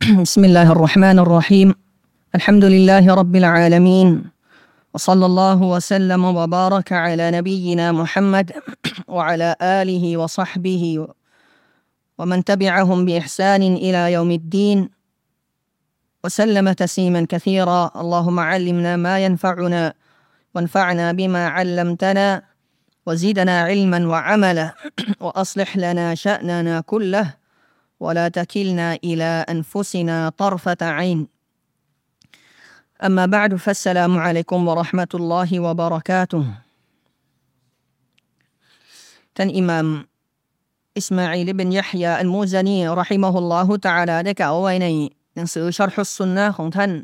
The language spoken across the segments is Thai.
بسم الله الرحمن الرحيم الحمد لله رب العالمين وصلى الله وسلم وبارك على نبينا محمد وعلى آله وصحبه ومن تبعهم بإحسان إلى يوم الدين وسلم تسليما كثيرا اللهم علمنا ما ينفعنا وانفعنا بما علمتنا وزدنا علما وعملا وأصلح لنا شأننا كله ولا تكلنا إلى أنفسنا طرفة عين أما بعد فالسلام عليكم ورحمة الله وبركاته ท่านอิหม่ามอิสมาอีล บินยะฮยา อัลมูซานีเราะฮิมะฮุลลอฮุตะอาลาได้กล่าวไว้ในหนังสือชัรฮุสซุนนะห์ของท่าน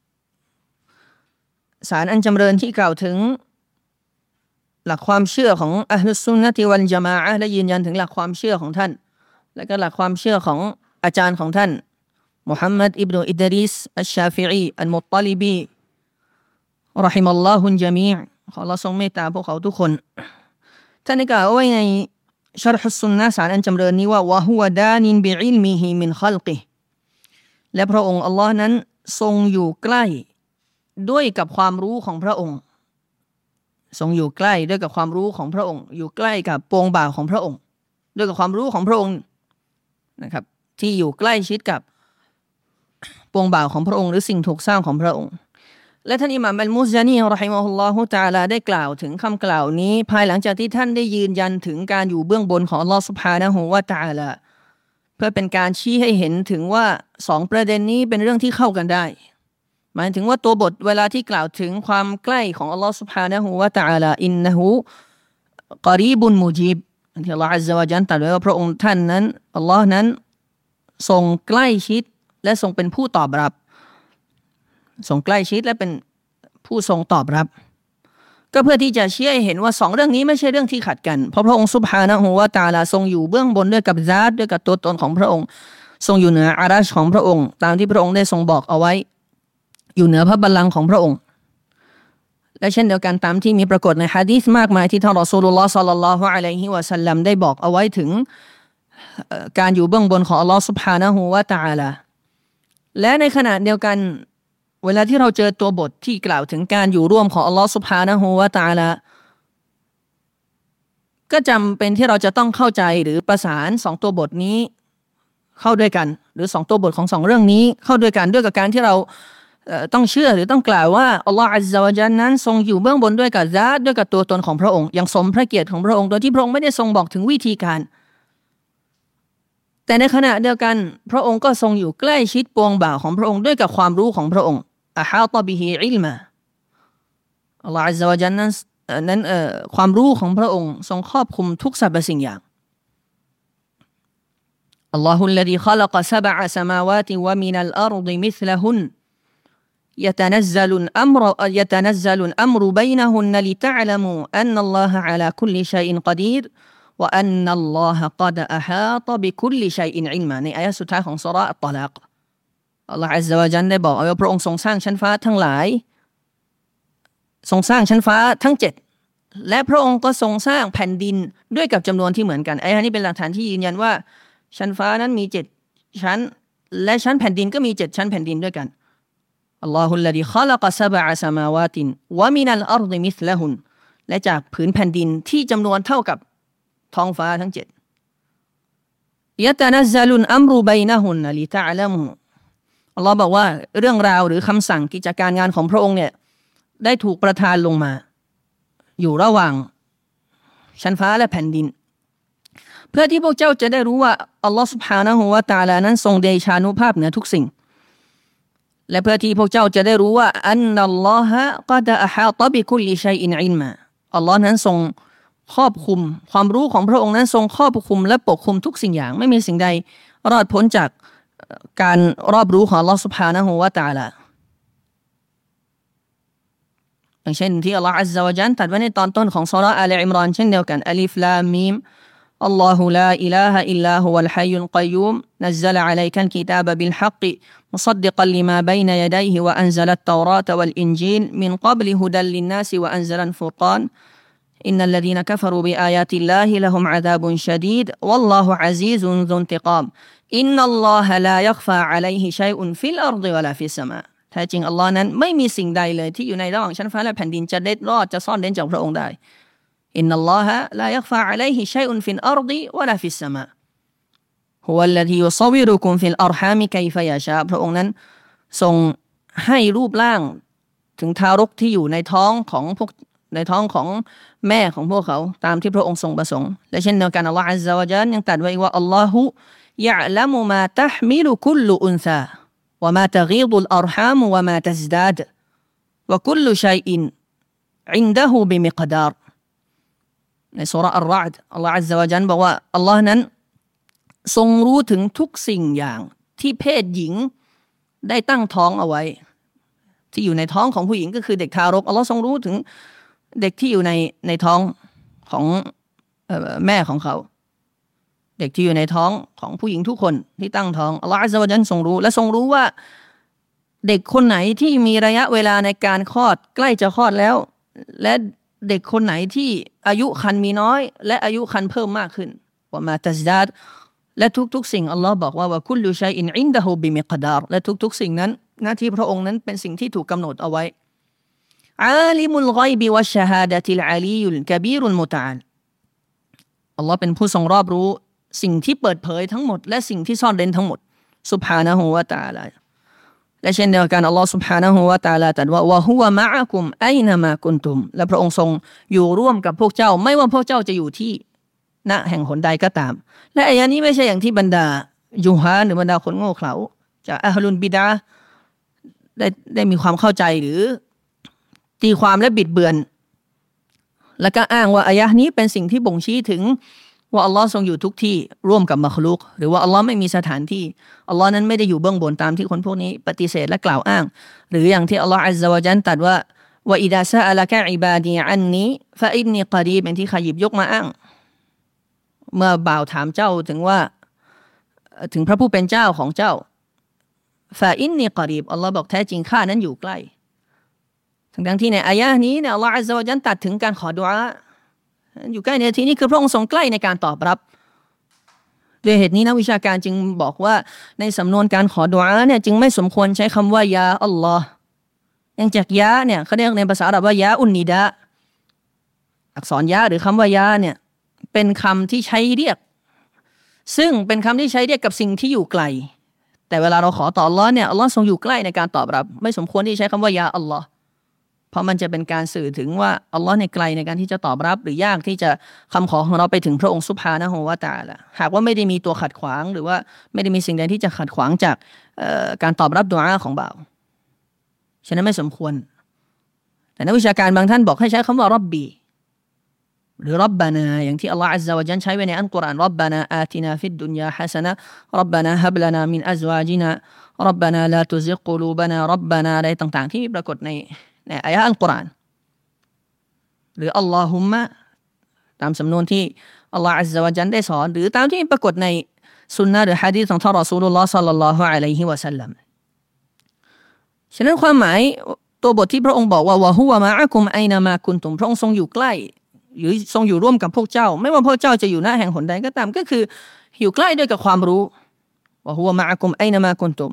สารอันจำเริญที่กล่าวถึงหลักความเชื่อของอะห์ลุสซุนนะติวัลญะมาอะห์และยืนยันถึงหลักความเชื่อของท่านและก็หลักความเชื่อของอาจารย์ของท่านมุฮัมมัดอิบนุอิดริสอัชชาฟิอีอัลมุฏฏอลิบีเราะฮิมัลลอฮุลญะมีอ์ขออัลเลาะห์ทรงเมตตาพวกเขาทุกคนท่านได้กล่าวไว้ในชัรฮุสซุนนะห์สารอันจำเริญนี้ว่าวะฮุวะดานินบิอิลมิฮิมินคัลกิฮิและพระองค์อัลเลาะห์นั้นทรงอยู่ใกล้ด้วยกับความรู้ของพระองค์ทรงอยู่ใกล้ด้วยกับความรู้ของพระองค์อยู่ใกล้กับปวงบ่าวของพระองค์ด้วยกับความรู้ของพระองค์นะครับที่อยู่ใกล้ชิดกับปวงบ่าวของพระองค์หรือสิ่งถูกสร้างของพระองค์และท่านอิหม่ามอัลมุซานีเราะฮิมะฮุลลอฮุตะอาลาได้กล่าวถึงคำกล่าวนี้ภายหลังจากที่ท่านได้ยืนยันถึงการอยู่เบื้องบนของอัลเลาะห์ซุบฮานะฮูวะตะอาลาเพื่อเป็นการชี้ให้เห็นถึงว่าสองประเด็นนี้เป็นเรื่องที่เข้ากันได้หมายถึงว่าตัวบทเวลาที่กล่าวถึงความใกล้ของอัลเลาะห์ซุบฮานะฮูวะตะอาลาอินนะฮูกอรีบุนมุจีบที่อัลเลาะห์อัซซะวะญัลตรัสไว้ว่าพระองค์ท่านนั้นอัลเลาะห์นั้นทรงใกล้ชิดและทรงเป็นผู้ตอบรับทรงใกล้ชิดและเป็นผู้ทรงตอบรับก็เพื่อที่จะชี้ให้เห็นว่าสองเรื่องนี้ไม่ใช่เรื่องที่ขัดกันเพราะพระองค์ซุบฮานะฮูวะตะอาลาทรงอยู่เบื้องบนด้วยกับซาตด้วยกับตัวตนของพระองค์ทรงอยู่เหนืออารัชของพระองค์ตามที่พระองค์ได้ทรงบอกเอาไว้อยู่เหนือพระบัลลังก์ของพระองค์และเช่นเดียวกันตามที่มีปรากฏในหะดีษมากมายที่ท่านรอซูลุลลอฮ์ศ็อลลัลลอฮุอะลัยฮิวะซัลลัมได้บอกเอาไว้ถึงการอยู่เบื้องบนของอัลเลาะห์ซุบฮานะฮูวะตะอาลาและในขณะเดียวกันเวลาที่เราเจอตัวบทที่กล่าวถึงการอยู่ร่วมของอัลเลาะห์ซุบฮานะฮูวะตะอาลาก็จำเป็นที่เราจะต้องเข้าใจหรือประสานสองตัวบทนี้เข้าด้วยกันหรือสองตัวบทของสองเรื่องนี้เข้าด้วยกันด้วยกับการที่เราต้องเชื่อหรือต้องกล่าวว่าอัลลอฮฺอัซซะวะญัลนั้นทรงอยู่เบื้องบนด้วยกับซาตด้วยกับตัวตนของพระองค์อย่างสมพระเกียรติของพระองค์โดยที่พระองค์ไม่ได้ทรงบอกถึงวิธีการแต่ในขณะเดียวกันพระองค์ก็ทรงอยู่ใกล้ชิดปวงบ่าวของพระองค์ด้วยกับความรู้ของพระองค์อะฮาตะบิฮิอิลมาอัลลอฮฺอัซซะวะญัลนั้นความรู้ของพระองค์ทรงครอบคลุมทุกสรรพสิ่งอย่างอัลลอฮุลลซีคอลักซะบะอะซะมาวาติวะมินัลอัรฎิมิษละฮุนيتنزل الأمر بينهن لتعلموا أن الله على كل شيء قدير وأن الله قد أحاط بكل شيء علما ในอายะห์สุดท้ายของซูเราะห์อัตตอลากอัลลอฮฺอัซซะวะญัลได้บอกว่าพระองค์ทรงสร้างชั้นฟ้าทั้งหลายทรงสร้างชั้นฟ้าทั้ง7และพระองค์ก็ทรงสร้างแผ่นดินด้วยกับจำนวนที่เหมือนกันอายะห์นี้เป็นหลักฐานที่ยืนยันว่าชั้นฟ้านั้นมี7ชั้นและชั้นแผ่นดินก็มี7ชั้นแผ่นดินด้วยกันอัลลอฮุลลซีคอลักซะบะอะซะมาวาตินวะมินัลอัรฎิมิษละฮุนและจากผืนแผ่นดินที่จำนวนเท่ากับท้องฟ้าทั้ง7ยะตะนัซซะลุลอัมรุบัยนะฮุนลิตะอ์ละมูอัลลอฮ์บอกว่าเรื่องราวหรือคำสั่งกิจการงานของพระองค์เนี่ยได้ถูกประทานลงมาอยู่ระหว่างชั้นฟ้าและแผ่นดินเพื่อที่พวกเจ้าจะได้รู้ว่าอัลลอฮ์ซุบฮานะฮูวะตะอาลานั้นทรงเดชานุภาพเหนือทุกสิ่งและเพื่อที่พวกเจ้าจะได้รู้ว่าอันนัลลอฮะกอดอะฮาตะบิคุลลิชัยอินอิลมาอัลลอฮ์นั้นทรงครอบคลุมความรู้ของพระองค์นั้นทรงครอบคลุมและปกคลุมทุกสิ่งอย่างไม่มีสิ่งใดรอดพ้นจากการรอบรู้ของอัลลอฮ์ซุบฮานะฮูวะตะอาลาอย่างเช่นที่อัลลอฮ์อัซซะวะญัลตรัสไว้ในตอนต้นของซูเราะห์อาลอิมรอนเช่นเดียวกันอัลิฟลามมีมالله لا إله إلا هو الحي القيوم نزل عليك الكتاب بالحق مصدقا لما بين يديه وأنزل التوراة والإنجيل من قبل هدى للناس وأنزل الفرقان إن الذين كفروا بآيات الله لهم عذاب شديد والله عزيز ذو انتقام อินนัลลอฮะลายักฟาอะลัยฮิชัยอุนฟิลอัรฎิวะลาฟิสสมาแท้จริงอัลลอฮ์นั้นไม่มีสิ่งใดเลยที่อยู่ในระหว่างชั้นฟ้าและแผ่นดินจะเล็ดรอดจะซ่อนเร้นจากพระองค์ได้อินนัลลอฮะลายักฟาอะลัยฮิชัยอุนฟิลอัรฎิวะลาฟิสสมาฮุวัลลซียุศวิรุกุมฟิลอัรฮามิกัยฟะยะชาพระองค์นั้นทรงให้รูปร่างถึงทารกที่อยู่ในท้องของแม่ของพวกเขาตามที่พระองค์ทรงประสงค์และเช่นเดียวกันอัลลอฮฺอัซซะวะญัลยังตรัสไว้ว่าอัลลอฮุยะละมุมาตะห์มิลุคุลลุอุนซาวะมาตะกีดุลอัรฮามวะมาตัซดาดวะคุลลุชัยอินอินดะฮูบิมิกดารในซูเราะห์อัรเราะอ์ดอัลลอฮฺอัซซะวะญัลบอกว่าอัลลอฮ์นั้นทรงรู้ถึงทุกสิ่งอย่างที่เพศหญิงได้ตั้งท้องเอาไว้ที่อยู่ในท้องของผู้หญิงก็คือเด็กทารกอัลลอฮ์ทรงรู้ถึงเด็กที่อยู่ในท้องของแม่ของเขาเด็กที่อยู่ในท้องของผู้หญิงทุกคนที่ตั้งท้องอัลลอฮ์อัซซะวะญัลทรงรู้และทรงรู้ว่าเด็กคนไหนที่มีระยะเวลาในการคลอดใกล้จะคลอดแล้วและเด็กคนไหนที่อายุครรภ์มีน้อยและอายุครรภ์เพิ่มมากขึ้นว่ามาตัซดาดและทุกๆสิ่งอัลลอฮ์บอกว่าวะคุลลุชัยอินอินดะฮูบิมิกดารและทุกๆสิ่งนั้นหน้าที่พระองค์นั้นเป็นสิ่งที่ถูกกำหนดเอาไว้อาลิมุลฆอยบิวัชชะฮาดะติลอาลียุลกะบีรุลมุตะอาลอัลลอฮ์เป็นผู้ทรงรอบรู้สิ่งที่เปิดเผยทั้งหมดและสิ่งที่ซ่อนเร้นทั้งหมดซุบฮานะฮูวะตะอาลาและเช่นเดียวกันอัลลอฮ์ซุบฮานะฮูวะตะอาลาตรัสว่าวะฮุวะมะอะกุมอัยนะมากุนตุมและพระองค์ทรงอยู่ร่วมกับพวกเจ้าไม่ว่าพวกเจ้าจะอยู่ที่ณแห่งหนใดก็ตามและอายะนี้ไม่ใช่อย่างที่บรรดายูฮาหรือบรรดาคนโง่เขลาจากอะฮ์ลุลบิดะห์ได้มีความเข้าใจหรือตีความและบิดเบือนแล้วก็อ้างว่าอายะห์นี้เป็นสิ่งที่บ่งชี้ถึงว่าอัลลอฮ์ทรงอยู่ทุกที่ร่วมกับมัคลุกหรือว่าอัลลอฮ์ไม่มีสถานที่อัลลอฮ์นั้นไม่ได้อยู่เบื้องบนตามที่คนพวกนี้ปฏิเสธและกล่าวอ้างหรืออย่างที่อัลลอฮ์อัซซะวะญัลตรัสว่าวะอิดาซะอะละกะอิบาดีอันนีฟะอินนีกอรีบเป็นที่ขยิบยกมาอ้างเมื่อบ่าวถามเจ้าถึงพระผู้เป็นเจ้าของเจ้าฟาอินนีกอรีบอัลลอฮ์บอกแท้จริงข้านั้นอยู่ใกล้ทั้งที่ในอายะห์นี้เนี่ยอัลลอฮ์อัซซะวะญัลตัดถึงการขอดุอาอยู่ใกล้ในที่นี้คือพระองค์ทรงใกล้ในการตอบรับด้วยเหตุนี้นักวิชาการจึงบอกว่าในสำนวนการขอดุอาเนี่ยจึงไม่สมควรใช้คำว่ายาอัลลอฮ์อย่างจากยาเนี่ยเขาเรียกในภาษาอาหรับว่ายาอุนนิดะอักษรยาหรือคำว่ายาเนี่ยเป็นคำที่ใช้เรียกซึ่งเป็นคำที่ใช้เรียกกับสิ่งที่อยู่ไกลแต่เวลาเราขอต่ออัลลอฮ์เนี่ยอัลลอฮ์ทรงอยู่ใกล้ในการตอบรับไม่สมควรที่ใช้คำว่ายาอัลลอฮ์เพราะมันจะเป็นการสื่อถึงว่าอัลลอฮ์ในไกลในการที่จะตอบรับหรือยากที่จะคำขอของเราไปถึงพระองค์ซุบฮานะฮูวะตะอาลาหากว่าไม่ได้มีตัวขัดขวางหรือว่าไม่ได้มีสิ่งใดที่จะขัดขวางจากการตอบรับดุอาของบ่าวฉะนั้นไม่สมควรแต่นักวิชาการบางท่านบอกให้ใช้คำว่าร็อบบีหรือร็อบบานาอย่างที่อัลลอฮ์อัซซะวะญัลใช้ไว้ในอัลกุรอานร็อบบานาอาตินาฟิดดุนยาฮะซะนะห์ร็อบบานาฮับลานามินอัซวาจินาร็อบบานาลาตุซิกกุลูบานาร็อบบานาอะไรต่างๆที่ปรากฏในอายะห์อัลกุรอานหรืออัลลอฮุมมะตามสำนวนที่อัลลอฮ์อัซซะวะญัลได้สอนหรือตามที่ปรากฏในสุนนะหรือหะดีษของท่านรอซูลุลลอฮ์ศ็อลลัลลอฮุอะลัยฮิวะซัลลัมฉะนั้นความหมายตัวบทที่พระองค์บอกว่าวะฮุวะมะอะกุมอัยนะมากุนตุมพระองค์ทรงอยู่ใกล้หรือทรงอยู่ร่วมกับพวกเจ้าไม่ว่าพวกเจ้าจะอยู่ณแห่งหนใดก็ตามก็คืออยู่ใกล้ด้วยกับความรู้วะฮุวะมะอะกุมอัยนะมากุนตุม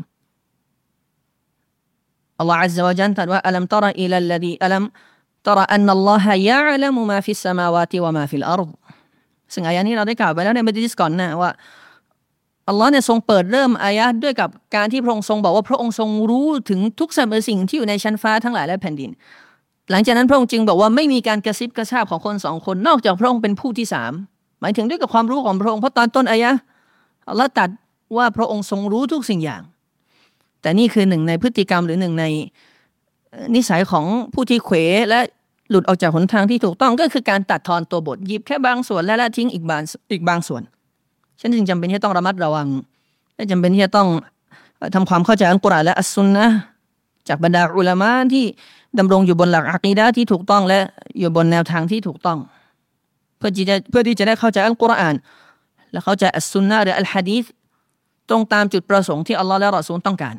อัลลอฮฺอัซซะวะญัลตรัสว่าอัลัมตะรออิลัลลซีอัลัมตะรออันนัลลอฮะยะอ์ละมุมาฟิสสมาวาติวะมาฟิลอัรฎซึ่งอายะนี้เราได้กล่าวไปแล้วในมัจลิสก่อนนะว่าอัลลอฮ์เนี่ยทรงเปิดเริ่มอายะด้วยกับการที่พระองค์ทรงบอกว่าพระองค์ทรงรู้ถึงทุกสรรพสิ่งที่อยู่ในชั้นฟ้าทั้งหลายและแผ่นดินหลังจากนั้นพระองค์จึงบอกว่าไม่มีการกระซิบกระซาบของคนสองคนนอกจากพระองค์เป็นผู้ที่สามหมายถึงด้วยกับความรู้ของพระองค์เพราะตอนต้นอายะอัลลอฮ์ตรัสว่าพระองค์ทรงรู้ทุกสิ่งอย่างแต่นี่คือหนึ่งในพฤติกรรมหรือหนึ่งในนิสัยของผู้ที่เขวและหลุดออกจากหนทางที่ถูกต้องก็คือการตัดทอนตัวบทหยิบแค่บางส่วนและละทิ้งอีกบางส่วนฉันจึงจำเป็นที่จะต้องระมัดระวังและจำเป็นที่จะต้องทำความเข้าใจอัลกุรอานและอัสซุนนะห์จากบรรดาอุลามะที่ดำรงอยู่บนหลักอะกีดะห์ที่ถูกต้องและอยู่บนแนวทางที่ถูกต้องเพื่อที่จะได้เข้าใจอัลกุรอานและเข้าใจอัสซุนนะห์หรืออัลหะดีษตรงตามจุดประสงค์ที่อัลลอฮ์และรอซูลต้องการ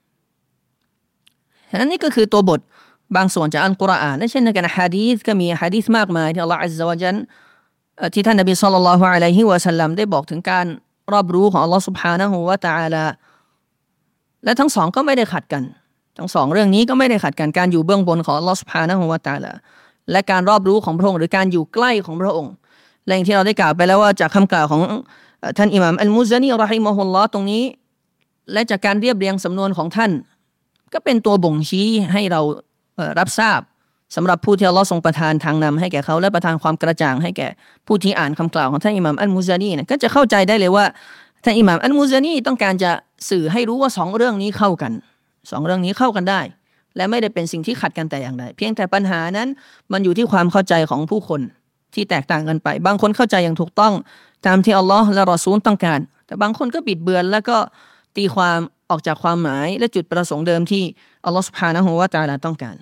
ฉะนั้นนี่ก็คือตัวบทบางส่วนจากอัลกุรอานและเช่นเดียวกันหะดีษก็มีหะดีษมากมายที่อัลลอฮ์อัซซะวะญัลที่ท่านนบีศ็อลลัลลอฮุอะลัยฮิวะซัลลัมได้บอกถึงการรอบรู้ของอัลลอฮฺ سبحانه และ تعالى และทั้งสองก็ไม่ได้ขัดกันทั้งสองเรื่องนี้ก็ไม่ได้ขัดกันการอยู่เบื้องบนของอัลลอฮฺ سبحانه และ تعالى และการรอบรู้ของพระองค์หรือการอยู่ใกล้ของพระองค์และอย่างที่เราได้กล่าวไปแล้วว่าจากคำกล่าวของท่านอิหม่ามอัลมุซานีเราะฮิมะฮุลลอฮ์ตรงนี้และจากการเรียบเรียงสำนวนของท่านก็เป็นตัวบ่งชี้ให้เรารับทราบสำหรับผู้ที่อัลลอฮ์ทรงประทานทางนำให้แก่เขาและประทานความกระจ่างให้แก่ผู้ที่อ่านคำกล่าวของท่านอิหม่ามอัลมุซานีก็จะเข้าใจได้เลยว่าท่านอิหม่ามอัลมุซานีต้องการจะสื่อให้รู้ว่าสองเรื่องนี้เข้ากันสองเรื่องนี้เข้ากันได้และไม่ได้เป็นสิ่งที่ขัดกันแต่อย่างใดเพียงแต่ปัญหานั้นมันอยู่ที่ความเข้าใจของผู้คนที่แตกต่างกันไปบางคนเข้าใจอย่างถูกต้องตามที่อัลลอฮ์และรอซูลต้องการแต่บางคนก็บิดเบือนแล้วก็ตีความออกจากความหมายและจุดประสงค์เดิมที่อัลลอฮ์ سبحانه และ تعالى ต้องการ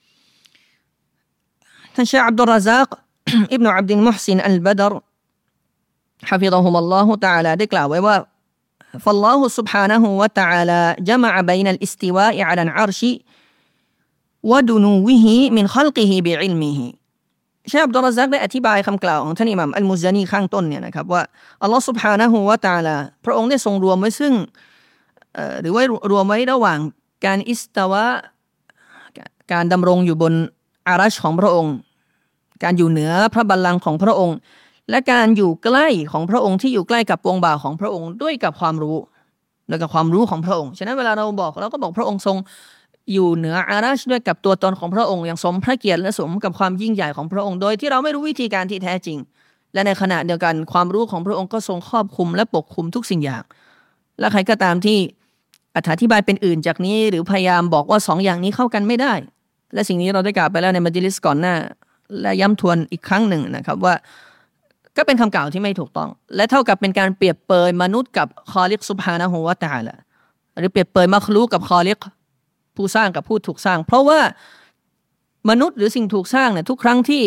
ท่านเชคอับดุลรซัก อิบนุอับดุลมุฮซินอัลบดรحفظهم الله تعالى ได้กล่าวไว้ว่า فالله سبحانه وتعالى جمع بين الاستواء على العرش ودنوه من خلقه بعلمه เชคอับดุลรซักได้อธิบายคำกล่าวของท่านอิหม่ามอัลมุซานีข้างต้นเนี่ยนะครับว่าอัลลอฮ์ سبحانه และ تعالى พระองค์ได้ทรงรวมไว้ซึ่งหรือว่ารวมไว้ระหว่างการอิสตาวะการดำรงอยู่บนอารัชของพระองค์การอยู่เหนือพระบัลลังก์ของพระองค์และการอยู่ใกล้ของพระองค์ที่อยู่ใกล้กับวงบ่าของพระองค์ด้วยกับความรู้และกับความรู้ของพระองค์ฉะนั้นเวลาเราก็บอกพระองค์ทรงอยู่เหนืออารัชด้วยกับตัวตนของพระองค์อย่างสมพระเกียรติและสมกับความยิ่งใหญ่ของพระองค์โดยที่เราไม่รู้วิธีการที่แท้จริงและในขณะเดียวกันความรู้ของพระองค์ก็ทรงครอบคลุมและปกคลุมทุกสิ่งอย่างและใครก็ตามที่อธิบายเป็นอื่นจากนี้หรือพยายามบอกว่าสองอย่างนี้เข้ากันไม่ได้และสิ่งนี้เราได้กล่าวไปแล้วในมัจลิสก่อนหน้าและย้ำทวนอีกครั้งหนึ่งนะครับว่าก็เป็นคำกล่าวที่ไม่ถูกต้องและเท่ากับเป็นการเปรียบเปยมนุษย์กับคอลิกซุบฮานะฮูวะตะอาลาหรือเปรียบเปยมัคลูกกับคอลิกผู้สร้างกับผู้ถูกสร้างเพราะว่ามนุษย์หรือสิ่งถูกสร้างเนี่ยทุกครั้งที่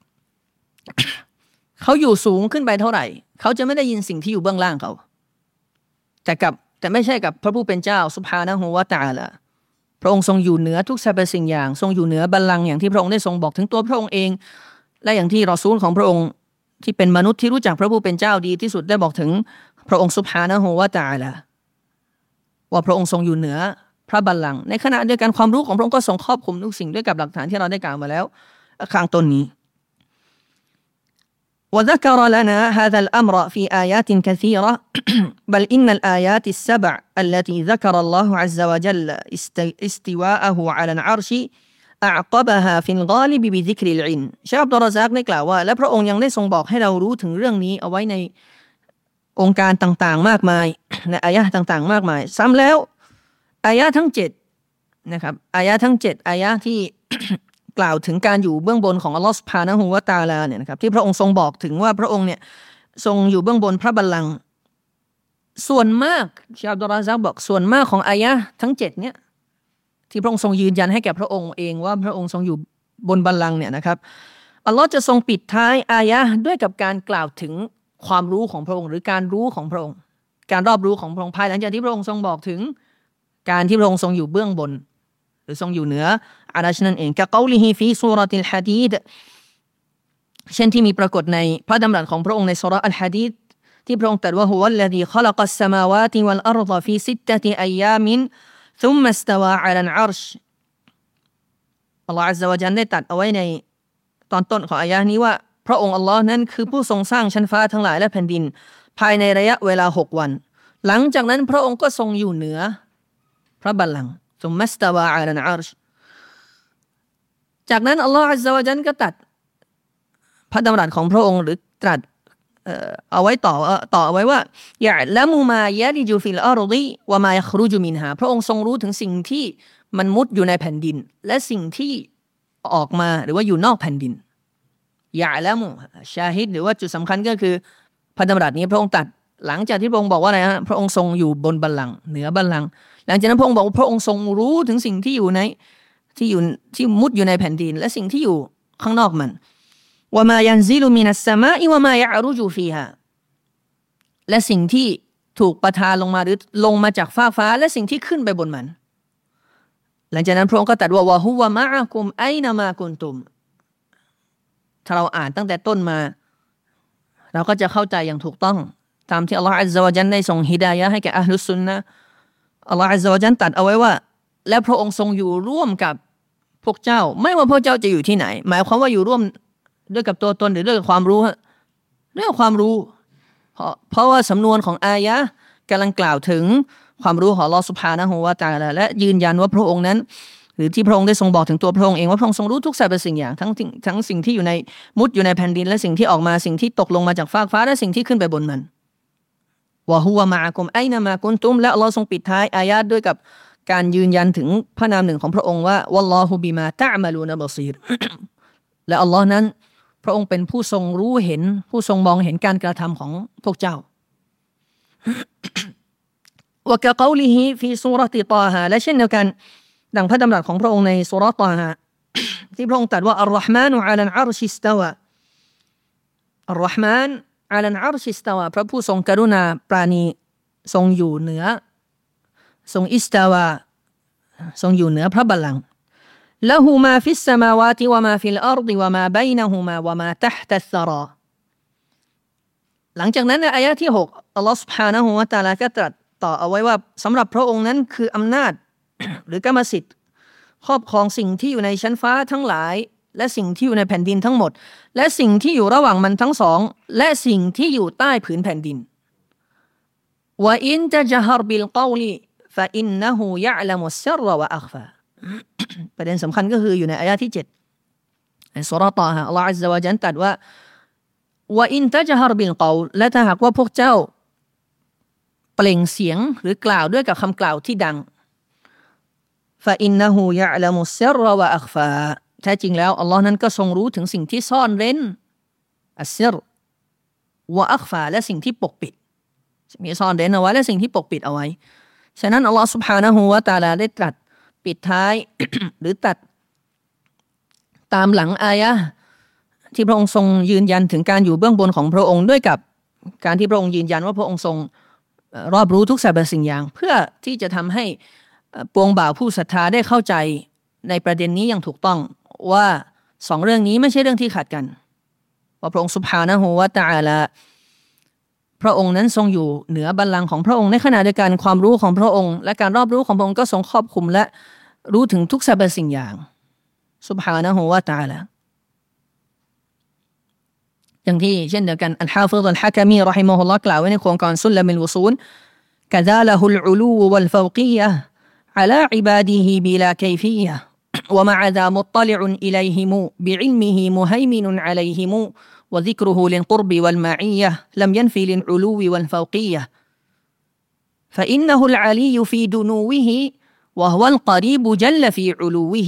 เขาอยู่สูงขึ้นไปเท่าไหร่เขาจะไม่ได้ยินสิ่งที่อยู่เบื้องล่างเขาแต่ไม่ใช่กับพระผู้เป็นเจ้าซุบฮานะฮูวะตะอาลาพระองค์ทรงอยู่เหนือทุกสรรพสิ่งอย่างทรงอยู่เหนือบัลลังก์อย่างที่พระองค์ได้ทรงบอกถึงตัวพระองค์เองและอย่างที่รอซูลของพระองค์ที่เป็นมนุษย์ที่รู้จักพระผู้เป็นเจ้าดีที่สุดได้บอกถึงพระองค์ซุบฮานะฮูวะตะอาลาว่าพระองค์ทรงอยู่เหนือพระบัลลังก์ในขณะเดียวกันความรู้ของพระองค์ก็ทรงครอบคลุมทุกสิ่งด้วยกับหลักฐานที่เราได้กล่าวมาแล้วข้างต้นนี้وذكر لنا هذا الأمر في آيات كثيرة بل إن الآيات السبع التي ذكر الله عز وجل استواءه على العرش أعقبها في الغالب بذكر العلم เชคอับดุลรซักได้กล่าวว่าและพระองค์ยังได้ทรงบอกให้เรารู้ถึงเรื่องนี้เอาไว้ในองค์การต่างๆมากมายในอายะห์ต่างๆมากมายซ้ำแล้วอายะห์ทั้ง7นะครับอายะห์ทั้ง7อายะห์ที่ กล่าวถึงการอยู่เบื้องบนของอัลลอฮฺซุบฮานะฮูวะตะอาลาเนี่ยนะครับที่พระองค์ทรงบอกถึงว่าพระองค์เนี่ยทรงอยู่เบื้องบนพระบัลลังก์ส่วนมากเชคอับดุลรซักบอกส่วนมากของอายะห์ทั้ง7เนี่ยที่พระองค์ทรงยืนยันให้แก่พระองค์เองว่าพระองค์ทรงอยู่บนบัลลังก์เนี่ยนะครับอัลลอฮ์จะทรงปิดท้ายอายะห์ด้วยกับการกล่าวถึงความรู้ของพระองค์หรือการรู้ของพระองค์การรอบรู้ของพระองค์ภายหลังจากที่พระองค์ทรงบอกถึงการที่พระองค์ทรงอยู่เบื้องบนหรือทรงอยู่เหนืออารัชนั่นเองกะกอลิฮิฟีซูเราะติลฮะดีดเช่นที่มีปรากฏในพระดำรัสของพระองค์ในซูเราะห์อัลฮะดีดที่พระองค์ตรัสว่าฮุวัลลซีคอลักัสสมาวาติวัลอัรฎฟีซิตตะติอัยยามินซุมมัสตาวาอะลัลอัรชอัลลอฮฺอัซซะวะญัลได้ตรัสเอาไว้ในตอนต้นของอายะห์นี้ว่าพระองค์อัลลอฮ์นั้นคือผู้ทรงสร้างชั้นฟ้าทั้งหลายและแผ่นดินภายในระยะเวลา6วันหลังจากนั้นพระองค์ก็ทรงอยู่เหนือพระบัลลังก์ซุมมัสตาวาอะลัลอัรชจากนั้นอัลลอฮฺอัซซะวะญัลก็ตรัสพระดำรัสของพระองค์หรือตรัสเอาไว้ต่อเอาไว้ว่ายะละมุมายะลิจุฟิลอัรฎิวะมายะครุจุมินฮาพระองค์ทรงรู้ถึงสิ่งที่มันมุดอยู่ในแผ่นดินและสิ่งที่ออกมาหรือว่าอยู่นอกแผ่นดินยะละมุชาฮิดหรือว่าจุดสำคัญก็คือพระดำรัสนี้พระองค์ตรัสหลังจากที่พระองค์บอกว่าอะไรฮะพระองค์ทรงอยู่บนบัลลังก์เหนือบัลลังก์หลังจากนั้นพระองค์บอกว่าพระองค์ทรงรู้ถึงสิ่งที่อยู่ในที่มุดอยู่ในแผ่นดินและสิ่งที่อยู่ข้างนอกมันวะมายันซิลุมินัสสมาอิวะมายะอรุจุฟีฮาและสิ่งที่ถูกประทานลงมาหรือลงมาจากฟากฟ้าและสิ่งที่ขึ้นไปบนมันหลังจากนั้นพระองค์ก็ตรัสว่าวะฮุวะมะอะกุมไอนะมากุนตุมถ้าเราอ่านตั้งแต่ต้นมาเราก็จะเข้าใจอย่างถูกต้องตามที่อัลลอฮฺอัซซะวะญัลได้ทรงฮิดายะห์ให้แก่อะห์ลุสซุนนะห์อัลลอฮฺอัซซะวะญัลตรัสเอาไว้ว่าและพระองค์ทรงอยู่ร่วมกับพวกเจ้าไม่ว่าพวกเจ้าจะอยู่ที่ไหนหมายความว่าอยู่ร่วมด้วยกับตัวตนหรือด้วยกับความรู้ด้วยความรู้เพราะว่าสำนวนของอายะห์กำลังกล่าวถึงความรู้ของอัลเลาะห์ซุบฮานะฮูวะตะอาลาและยืนยันว่าพระองค์นั้นหรือที่พระองค์ได้ทรงบอกถึงตัวพระองค์เองว่าพระองค์ทรงรู้ทุกสรรพสิ่งอย่างทั้งสิ่งที่อยู่ในมุดอยู่ในแผ่นดินและสิ่งที่ออกมาสิ่งที่ตกลงมาจากฟากฟ้าและสิ่งที่ขึ้นไปบนมันวะฮุวะมะอะกุมไอนะมากุนตุมและอัลเลาะห์ทรงปิดท้ายอายะห์ด้วยกับการยืนยันถึงพระนามหนึ่งของพระองค์ว่าวัลลอฮุบิมาตะอ์มะลูนะบะซีร และอัลลอฮ์นั้นพระองค์เป็นผู้ทรงรู้เห็นผู้ทรงมองเห็นการกระทำของพวกเจ้าวะกะกอลิฮิฟีซูเราะติฏอฮาและเช่นเดียวกันดังพระดำรัสของพระองค์ในซูเราะห์ฏอฮา ที่พระองค์ตรัสว่าอัลเราะห์มานุอะลัลอาร์ชิสตาวาอัลเราะห์มานอะลัลอาร์ชิสตาวาพระผู้ทรงกรุณาปราณีทรงอยู่เหนือทรงอิสตาวาทรงอยู่เหนือพระบัลลังก์ละหูมาฟิสสมาวาติวะมาฟิลอัรฎิวะมาบัยนะฮูมาวะมาตะฮตัสซะรอหลังจากนั้นในอายะห์ที่6อัลเลาะห์ซุบฮานะฮูวะตะอาลาก็ตรัสต่อเอาไว้ว่าสำหรับพระองค์นั้นคืออำนาจ หรือกรรมสิทธิ์ครอบครองสิ่งที่อยู่ในชั้นฟ้าทั้งหลายและสิ่งที่อยู่ในแผ่นดินทั้งหมดและสิ่งที่อยู่ระหว่างมันทั้งสองและสิ่งที่อยู่ใต้ผืนแผ่นดินวะอินตะจฮรบิลกอลิฟะอินนะฮูยะอ์ละมุสซิรรวะอัคฟา ประเด็นสำคัญก็คืออยู่ในอายะห์ที่7ในซูเราะห์ฏอฮาอัลเลาะห์อัซซะวะญัลตรัสว่าวะอินตะจฮรบิลกอลและถ้าหากว่าพวกเจ้าเปล่งเสียงหรือกล่าวด้วยกับคำกล่าวที่ดังฟะอินนะฮูยะอ์ละมุสซิรรวะอัคฟาแท้จริงแล้วอัลเลาะห์นั้นก็ทรงรู้ถึงสิ่งที่ซ่อนเร้นอัสซิรวะอัคฟาและสิ่งที่ปกปิดมีซ่อนเร้นเอาไว้และสิ่งที่ปกปิดเอาไว้ฉะนั้นอัลเลาะห์ซุบฮานะฮูวะตะอาลาได้ตรัสปิดท้าย หรือตัดตามหลังอายะห์ที่พระองค์ทรงยืนยันถึงการอยู่เบื้องบนของพระองค์ด้วยกับการที่พระองค์ยืนยันว่าพระองค์ทรงรอบรู้ทุกสรรพสิ่งอย่างเพื่อที่จะทำให้ปวงบ่าวผู้ศรัทธาได้เข้าใจในประเด็นนี้อย่างถูกต้องว่าสองเรื่องนี้ไม่ใช่เรื่องที่ขัดกันว่าพระองค์ซุบฮานะฮูวะตะอาลาพระองค์นั้นทรงอยู่เหนือบัลลังก์ของพระองค์ในขณะเดียวกันความรู้ของพระองค์และการรอบรู้ของพระองค์ก็ทรงครอบคลุมและรู้ถึงทุกสรรพสิ่งอย่างซุบฮานะฮูวะตะอาลาอย่างที่เช่นเดียวกันอัลฮาฟิฎอัลฮะกะมีเราะฮิมะฮุลลอฮ์กล่าวไว้ในโครงการซุลลัมุลวุซูลกะซาละฮุลอุลูวัลฟาวกียะฮ์อะลาอิบาดิฮิบิลากัยฟียะฮ์วะมะอะซามุตตลิอุนอิลัยฮิมบิอิลมิฮิมุฮัยมินุนอะลัยฮิมوذكره للقرب والمعية لم ينفي للعلو والفوقية فإنه العلي في دنوه وهو القريب جل في علوه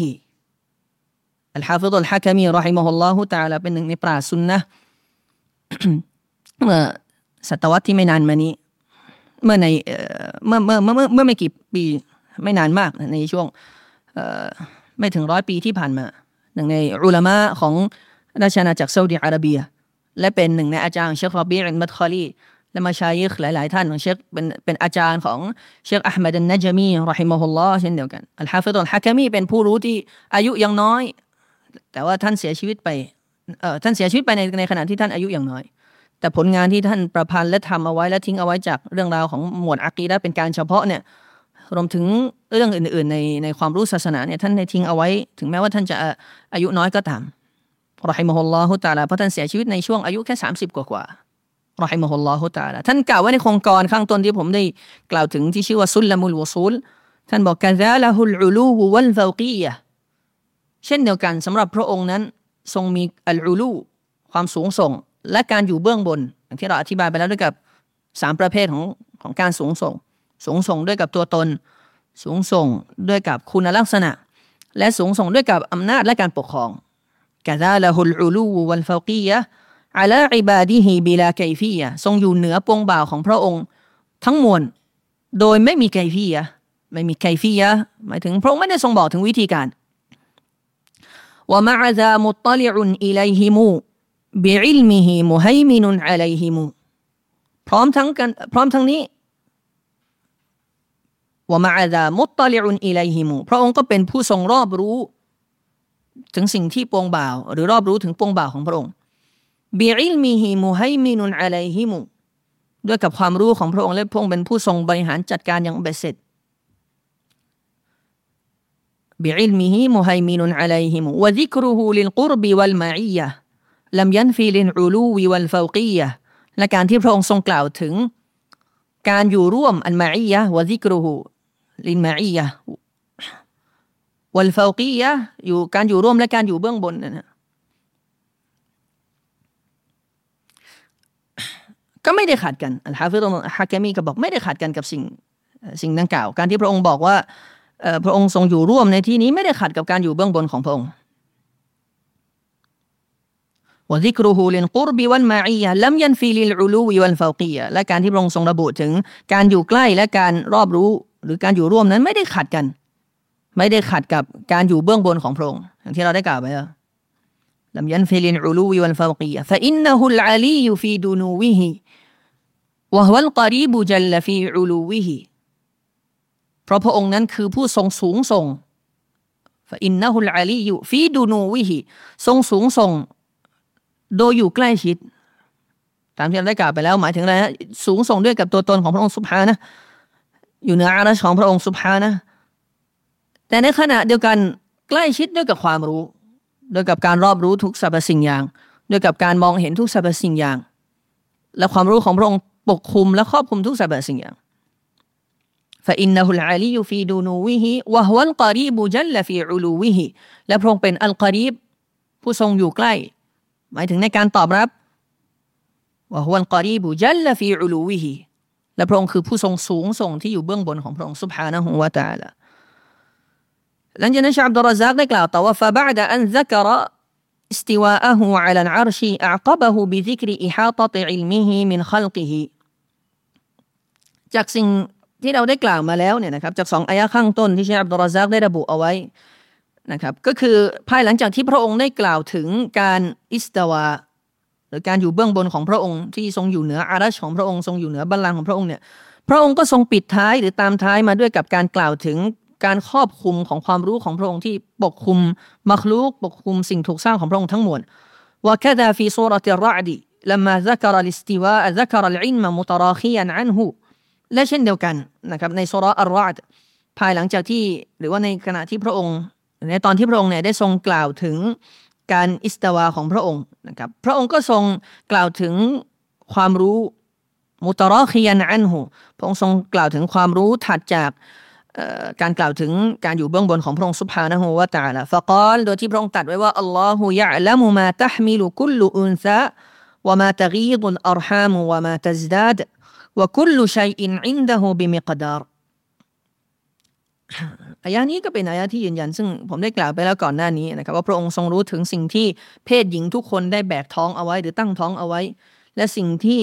الحافظ الحكمي رحمه الله تعالى เป็นหนึ่งในปราชญ์ซุนนะห์ เมื่อศตวรรษที่ไม่นานมานี้เมื่อไม่กี่ปีไม่นานมากในช่วงไม่ถึง100 ปีที่ผ่านมาหนึ่งในอุลามะของราชอาณาจักรซาอุดิอาระเบียและเป็นหนึ่งในอาจารย์เชครอบีอัลมัดคอลีและมาชัยยิคหลายๆท่านของเชคเป็นอาจารย์ของเชคอะห์มัดอันนะญะมีเราะฮิมะฮุลลอฮ์เช่นเดียวกันอัลฮาฟิฎอัลฮะกะมีเป็นผู้รู้ที่อายุยังน้อยแต่ว่าท่านเสียชีวิตไปในขณะที่ท่านอายุยังน้อยแต่ผลงานที่ท่านประพันธ์และทำเอาไว้และทิ้งเอาไว้จากเรื่องราวของหมวดอะกีดะห์เป็นการเฉพาะเนี่ยรวมถึงเรื่องอื่นๆในความรู้ศาสนาเนี่ยท่านได้ทิ้งเอาไว้ถึงแม้ว่าท่านจะอายุน้อยก็ตามเราะฮิมะฮุลลอฮุตะอาลาเพราะท่านเสียชีวิตในช่วงอายุแค่30กว่าเราะฮิมะฮุลลอฮุตะอาลาท่านกล่าวไว้ในโครงการข้างต้นที่ผมได้กล่าวถึงที่ชื่อว่าซุลลัมุลวุซูลท่านบอกกะซาละฮุลอุลูวัลฟาวกียะฮ์เช่นเดียวกันสำหรับพระองค์นั้นทรงมีอัลอุลูความสูงส่งและการอยู่เบื้องบนอย่างที่เราอธิบายไปแล้วด้วยกับ3ประเภทของการสูงส่งด้วยกับตัวตนสูงส่งด้วยกับคุณลักษณะและสูงส่งด้วยกับอำนาจและการปกครองกะซาละฮุลอุลูวัลฟาวกียะฮ์อะลาอิบาดิฮิบิลากัยฟียะฮ์ทรงอยู่เหนือปวงบ่าวของพระองค์ทั้งมวลโดยไม่มีกัยฟียะฮ์ไม่มีกัยฟียะฮ์หมายถึงพระองค์ไม่ได้ทรงบอกถึงวิธีการวะมะอะซามุตตลิอุนอิลัยฮิมบิอิลมิฮิมุฮัยมินุนอะลัยฮิมพร้อมทั้งนี้วะมะอะซามุตตลิอุนอิลัยฮิมพระองค์ก็เป็นผู้ทรงรอบรู้ถึงสิ่งที่ปวงบ่าวหรือรอบรู้ถึงปวงบ่าวของพระองค์บิอิลมิฮิมุฮัยมินุนอะลัยฮิมด้วยกับความรู้ของพระองค์และพระองค์เป็นผู้ทรงบริหารจัดการอย่างเบ็ดเสร็จبعلمه مهيمن عليهم وذكره للقرب والمعية لم ينفي للعلو والفوقية และการที่พระองค์ทรงกล่าวถึงการอยู่ร่วมอัลมาอียะวะซิกรุฮุลินมาอียะวัลฟาวกียะอยู่การอยู่ร่วมและการอยู่เบื้องบนนะก็ไม่ได้ขัดกันอัลฮะฟิฎอัลฮะกะมีก็บอกไม่ได้ขัดกันกับสิ่งดังกล่าวการที่พระองค์บอกว่าพระองค์ทรงอยู่ร่วมในที่นี้ไม่ได้ขัดกับการอยู่เบื้องบนของพระองค์วะซิกรุฮุลิลกุรบิวัลมาอียะลัมยันฟีลิลอุลูวิวัลฟาวกียะและการที่พระองค์ทรงระบุถึงการอยู่ใกล้และการรอบรู้หรือการอยู่ร่วมนั้นไม่ได้ขัดกันไม่ได้ขัดกับการอยู่เบื้องบนของพระองค์อย่างที่เราได้กล่าวไปแล้วลัมยันฟีลิลอุลูวิวัลฟาวกียะฟะอินนะฮุลอาลียฟีดุนูวิฮิวะฮุวัลกอรีบจัลลฟีอุลูวิฮิเพราะพระองค์นั้นคือผู้ทรงสูงส่งฟะอินนะฮุลอาลียฟีดุนูวิฮิทรงสูงส่งโดยอยู่ใกล้ชิดตามที่เราได้กล่าวไปแล้วหมายถึงอะไรฮะสูงส่งด้วยกับตัวตนของพระองค์ซุบฮานะห์อยู่เหนืออารัชของพระองค์ซุบฮานะห์แต่ในขณะเดียวกันใกล้ชิดด้วยกับความรู้ด้วยกับการรอบรู้ทุกสรรพสิ่งอย่างด้วยกับการมองเห็นทุกสรรพสิ่งอย่างและความรู้ของพระองค์ปกคลุมและครอบคลุมทุกสรรพสิ่งอย่างفإنه العلي في دنوه وهو القريب جل في علوه และพระองค์เป็นอัลกอรีบผู้ทรงอยู่ใกล้หมายถึงในการตอบรับว่าฮุวัลกอรีบุจัลลฟีอุลูวิฮิและพระองค์คือผู้ทรงสูงส่งที่อยู่เบื้องบนของพระองค์ซุบฮานะฮูวะตะอาลาหลังจากนั้นชะอับดุลรอซักได้กล่าวต่อว่า فبعد أن ذكر استواءه على العرش أعقبه بذكر إحاطة علمه من خلقه จากสิ่งที่เราได้กล่าวมาแล้วเนี่ยนะครับจาก2อายะห์ข้างต้นที่ชะอับดุลรอซักได้ระบุเอาไว้นะครับก็คือภายหลังจากที่พระองค์ได้กล่าวถึงการอิสตาวาหรือการอยู่เบื้องบนของพระองค์ที่ทรงอยู่เหนืออารัชของพระองค์ทรงอยู่เหนือบัลลังก์ของพระองค์เนี่ยพระองค์ก็ทรงปิดท้ายหรือตามท้ายมาด้วยกับการกล่าวถึงการครอบคลุมของความรู้ของพระองค์ที่ปกคลุมมัคลูกปกคลุมสิ่งถูกสร้างของพระองค์ทั้งมวลว่าคาดาฟีซูเราะติรเราะฎ لما ذكر الاستواء ذكر العلم متراخيا عنه และเช่นเดียวกันนะครับในซูเราะห์อัรเราะฎภายหลังจากที่หรือว่าในขณะที่พระองค์ในตอนที่พระองค์เนี่ยได้ทรงกล่าวถึงการอิสตาวาของพระองค์นะครับพระองค์ก็ทรงกล่าวถึงความรู้มุตราคียันอันหูพระองค์ทรงกล่าวถึงความรู้ถัดจากการกล่าวถึงการอยู่เบื้องบนของพระองค์ซุบฮานะฮูวะตะอาลาฟะกาลโดยที่พระองค์ตรัสไว้ว่าอัลลอฮุยะอ์ละมุมาตะห์มิลุกุลลุอุนซาวะมาตะกีดุลอัรฮามวะมาตัซดาดวะกุลลุชัยอินอินดะฮูบิมิกดาร์อายะนี้ก็เป็นอายะที่ยืนยันซึ่งผมได้กล่าวไปแล้วก่อนหน้านี้นะครับว่าพระองค์ทรงรู้ถึงสิ่งที่เพศหญิงทุกคนได้แบกท้องเอาไว้หรือตั้งท้องเอาไว้และสิ่งที่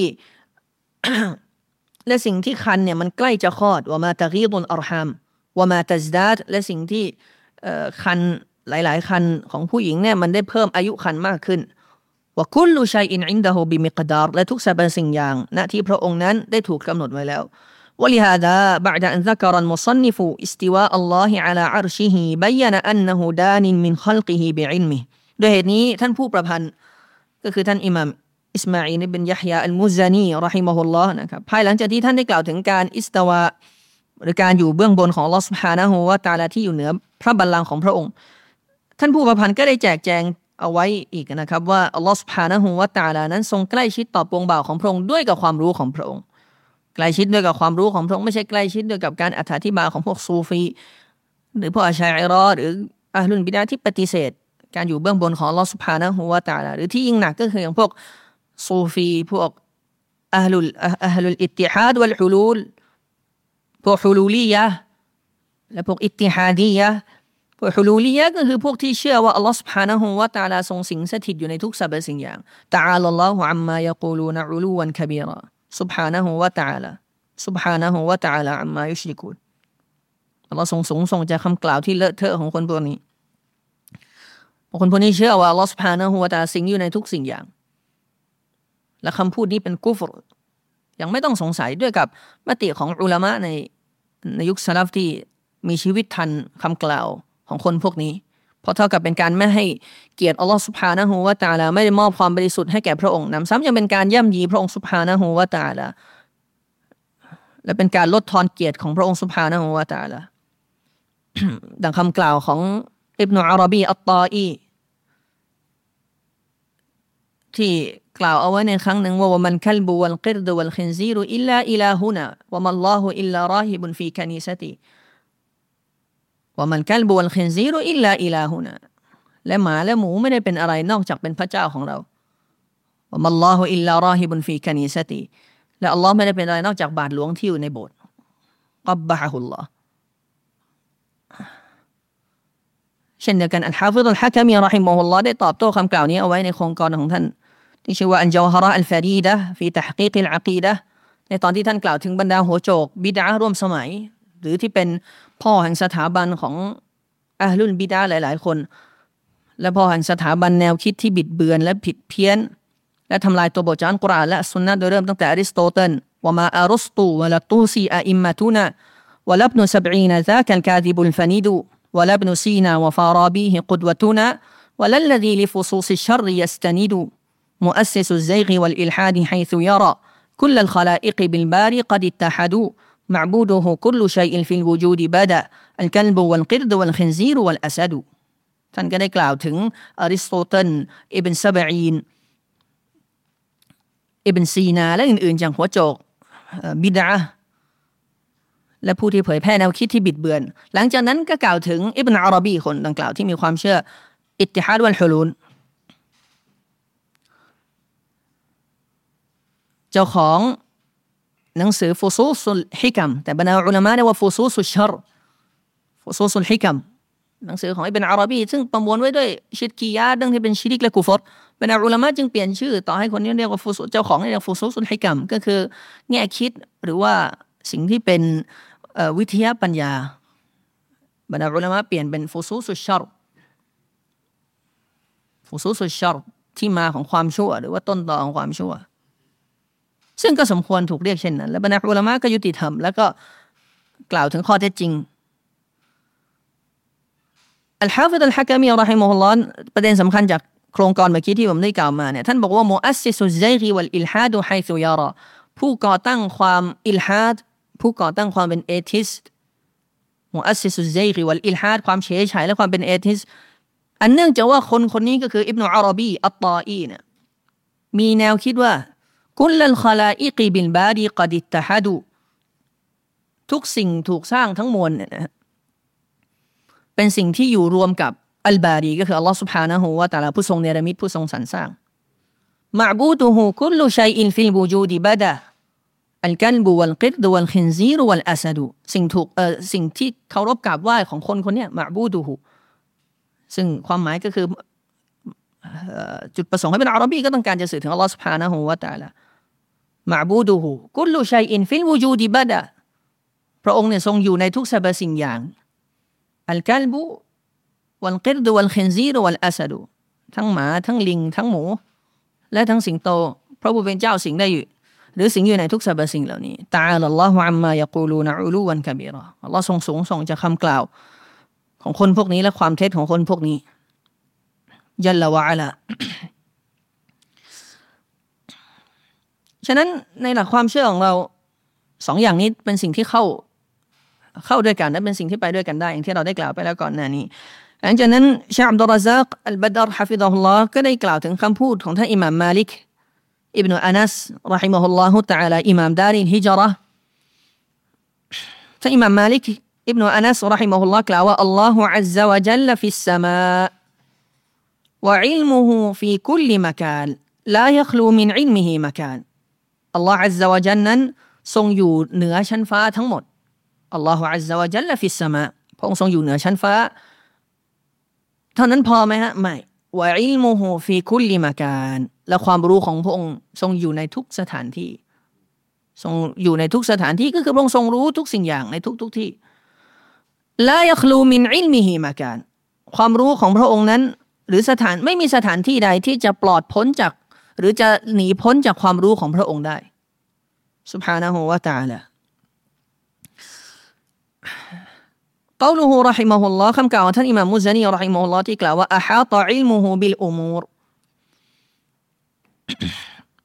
และสิ่งที่คันเนี่ยมันใกล้จะคลอดว่ามาตะกีดุลอัรฮามว่ามาตัซดาดและสิ่งที่คันหลายๆคันของผู้หญิงเนี่ยมันได้เพิ่มอายุคันมากขึ้นว่ากุลลุชัยอินอินดะฮูบิมิกดาร์และทุกสรรพสิ่งอย่างณที่พระองค์นั้นได้ถูกกำหนดไว้แล้วولهذا بعد أن ذكر المصنف استواء الله على عرشه بين أنه دان من خلقه بعلمه โดยเหตุนี้ท่านผู้ประพันธ์ก็คือท่านอิหม่ามอิสมาอีล บินยะฮยาอัลมุซานีเราะฮิมะฮุลลอฮ์นะครับภายหลังจากที่ท่านได้กล่าวถึงการอิสตาวาหรือการอยู่เบื้องบนของอัลเลาะห์ซุบฮานะฮูวะตะอาลาที่อยู่เหนือพระบัลลังก์ของพระองค์ท่านผู้ประพันธ์ก็ได้แจกแจงเอาไว้อีกนะครับว่าอัลเลาะห์ซุบฮานะฮูวะตะอาลานั้นทรงใกล้ชิดต่อปวงบ่าวของพระองค์ด้วยกับความรู้ของพระองค์ใกล้ชิดด้วยกับความรู้ของพระองค์ไม่ใช่ใกล้ชิดด้วยกับการอธิบายของพวกซูฟีหรือพวกอัชอะอิเราะห์หรืออะห์ลุลบิดอะห์ที่ปฏิเสธการอยู่เบื้องบนของอัลเลาะห์ซุบฮานะฮูวะตะอาลาหรือที่ยิ่งหนักก็คืออย่างพวกซูฟีพวกอะห์ลุลอิตติฮาดวัลฮุลูลพวกฮุลูลียะห์และพวกอิตติฮาดียะห์พวกฮุลูลียะห์ก็คือพวกที่เชื่อว่าอัลเลาะห์ซุบฮานะฮูวะตะอาลาทรงสิงสถิตอยู่ในทุกสรรพสิ่งอย่างตะอาลัลลอฮุอัมมายะกูลูนะอุลูวันกะบีรอسبحانه وتعالى سبحانه وتعالى عما يشركون อัลเลาะห์ทรงสูงส่งจากคำกล่าวที่เลอะเทอะของคนพวกนี้คนพวกนี้เชื่อว่าอัลเลาะห์ سبحانه และ تعالى สิงอยู่ในทุกสิ่งอย่างและคำพูดนี้เป็นกุฟรยังไม่ต้องสงสัยด้วยกับมติของอุลามะในยุคสลัฟที่มีชีวิตทันคำกล่าวของคนพวกนี้เพราะเท่ากับเป็นการไม่ให้เกียรติอัลลอฮฺซุบฮานะฮูวะตะอาลาไม่ได้มอบความบริสุทธิ์ให้แก่พระองค์นำซ้ำยังเป็นการย่ำยีพระองค์ซุบฮานะฮูวะตะอาลาและเป็นการลดทอนเกียรติของพระองค์ซุบฮานะฮูวะตะอาลา ดังคำกล่าวของอิบนุอาระบีอัตตาอีที่กล่าวเอาไว้ในครั้งหนึ่งว่ามันคัลบุวัลกิรดุวัลคินซีรุอิลลาอิลาฮุนะวะมัลลอฮุอิลลาราฮิบุนฟีคานีซะติวะมันคัลบุวัลคินซีรุอิลลาอิลาฮุนะและหมาและหมูไม่ได้เป็นอะไรนอกจากเป็นพระเจ้าของเราวะมัลลอฮุอิลลาราฮิบุนฟีคานีซะติและอัลลอฮ์ไม่ได้เป็นอะไรนอกจากบาทหลวงที่อยู่ในโบสถ์กับบะฮุลลอฮ์เช่นเดียวกันอัลฮาฟิฎอัลฮะกะมีเราะฮิมะฮุลลอฮ์ได้ตอบโต้คำกล่าวนี้เอาไว้ในโครงการของท่านที่ชื่อว่าอันญาวฮาระอัลฟารีดะห์ฟีตัฮกีกอัลอะกีดะห์ในตอนที่ท่านกล่าวถึงบรรดาหัวโจกบิดอะห์ร่วมสมัยหรือที่เป็นพ่อแห่งสถาบันของอะห์ลุลบิดอะห์หลายๆคนและพ่อแห่งสถาบันแนวคิดที่บิดเบือนและผิดเพี้ยนและทำลายตัวบทจากอัลกุรอานและสุนนะห์โดยเริ่มตั้งแต่อริสโตเติลวะมาอารุสตูวะละตูซีอะอิมมะตุนะวะลับนุ70ซากัลกาซิบุลฟะนีดุولا ابن سينا وفارابيه قدوتنا ولا الذي لفصوص الشر يستند مؤسس الزيغ والإلحاد حيث يرى كل الخلائق بالباري قد اتحدوا معبوده كل شيء في الوجود بدا الكلب والقرد والخنزير والأسد ท่านก็ได้กล่าวถึงอริสโตเติลอิบนซะบะอีนอิบนซีนาและอื่นๆจากหัวโจกบิดอะห์และผู้ที่เผยแพร่แนวคิดที่บิดเบือนหลังจากนั้นก็กล่าวถึงอิบนุอาระบีคนดังกล่าวที่มีความเชื่ออิตติฮาดวัลฮุลูลเจ้าของหนังสือฟุซูซุลฮิกัมแต่บรรดาอุลามะเรียกว่าฟุซูซุชชัรฟุซูซุลฮิกัมหนังสือของอิบนุอาระบีซึ่งประมวลไว้ด้วยชิรกียะห์ดังที่เป็นชิริกและกุฟรบรรดาอุลามะจึงเปลี่ยนชื่อต่อให้คนนี้เรียกว่าฟุซูเจ้าของเรียกฟุซูซุลฮิกัมก็คือแง่คิดหรือว่าสิ่งที่เป็นวิทยาปัญญาบรรดาอุลามะเปลี่ยนเป็นฟุซูซุชชัรฟุซูซุชชัรที่มาของความชั่วหรือว่าต้นตอของความชั่วซึ่งก็สมควรถูกเรียกเช่นนั้นและบรรดาอุลามะก็ยุติธรรมแล้วก็กล่าวถึงข้อเท็จจริงอัลฮาฟิฎอัลฮะกะมีเราะฮิมะฮุลลอฮ์ประเด็นสำคัญจากโครงการเมื่อกี้ที่ผมได้กล่าวมาเนี่ยท่านบอกว่ามุอัสซิซุซซัยฆวัลอิลฮาดไฮซุยาราผู้ก่อตั้งความอิลฮาดผู้ก่อตั้งความเป็นเอทิสต์มุอัสซิซุซซัยฆวัลอิลฮาดความเฉยเฉยและความเป็นเอทิสต์อันเนื่องจากว่าคนนี้ก็คืออิบนุอาระบีอัตตาอีเนี่ยมีแนวคิดว่ากุลลัลคอลาอิกบิลบาริกอดิตตะฮัดูทุกสิ่งถูกสร้างทั้งมวลเนี่ยนะเป็นสิ่งที่อยู่รวมกับอัลบารีก็คืออัลลอฮฺ سبحانه และ تعالى ผู้ทรงเนรมิตผู้ทรงสรรสร้างมะอ์บูดุฮูกุลลุชัยอินฟิลวูจูดิบะดะอัลกัลบุวัลกิรดุวัลคินซีรุวัลอัสดุสิ่งที่เคารพกราบไหว้ของคนเนี้ยมะอ์บูดุฮูซึ่งความหมายก็คือจุดประสงค์ให้เป็นอาหรับีก็ต้องการจะสื่อถึงอัลลอฮฺ سبحانه และ تعالى มะอ์บูดุฮูกุลลุชัยอินฟิลวูจูดิบะดะพระองค์เนี่ยทรงอยู่ในทุกสรรพสิ่งอย่างอัลกัลบุวัลกิรดุวัลคินซีรุวัลอัสดุทั้งหมาทั้งลิงทั้งหมูและทั้งสิงโตพระผู้เป็นเจ้าสิ่งได้อยู่หรือสิ่งอยู่ในทุกสรรพสิ่งเหล่านี้ตะอาลัลลอฮุอัมมายะกูลูนอุลูวันกะบีรออัลเลาะห์ทรงสูงส่งจากคำกล่าวของคนพวกนี้และความเท็จของคนพวกนี้ญัลละวะอะลาฉะนั้นในหลักความเชื่อของเราสองอย่างนี้เป็นสิ่งที่เข้าด้วยกันและเป็นสิ่งที่ไปด้วยกันได้อย่างที่เราได้กล่าวไปแล้วก่อนหน้านี้หลังจากนั้นชะอับดุลรอซากอัลบัดรฮะฟิฎะฮุลลอฮ์ก็ได้กล่าวถึงคำพูดของท่านอิหม่ามมาลิกอิบนุอานัสรอฮิมะฮุลลอฮุตะอาลาอิหม่ามดาริลฮิจเราะห์ท่านอิหม่ามมาลิกอิบนุอานัสรอฮิมะฮุลลอฮ์กล่าวว่าอัลลอฮุอัซซะวะญัลฟิสสมาวะอิลมุฮูฟีคุลลิมะกานลายัคลูมินอิลมิฮิมะกานอัลลอฮุอัซซะวะญัลนั้นทรงอยู่เหนือชั้นฟ้าทั้งหมดอัลลอฮฺอัซซะวะญัลลฟิสสมาพระองค์ทรงอยู่เหนือชั้นฟ้าเท่านั้นพอไหมฮะไม่วะอิลมุฮูฟีคุลลิมะกานและความรู้ของพระองค์ทรงอยู่ในทุกสถานที่ทรงอยู่ในทุกสถานที่ก็คือพระองค์ทรงรู้ทุกสิ่งอย่างในทุกที่ลายัคลูมินอิลมิฮิมะกานความรู้ของพระองค์นั้นหรือไม่มีสถานที่ใดที่จะปลอดพ้นจากหรือจะหนีพ้นจากความรู้ของพระองค์ได้ซุบฮานะฮูวะตะอาลาقوله رحمه الله คำกล่าวของท่านอิหม่ามมุซานีรอฮิมะฮุลลอฮ์ที่กล่าวว่าอะฮาตะอิลมุฮูบิลอุมูร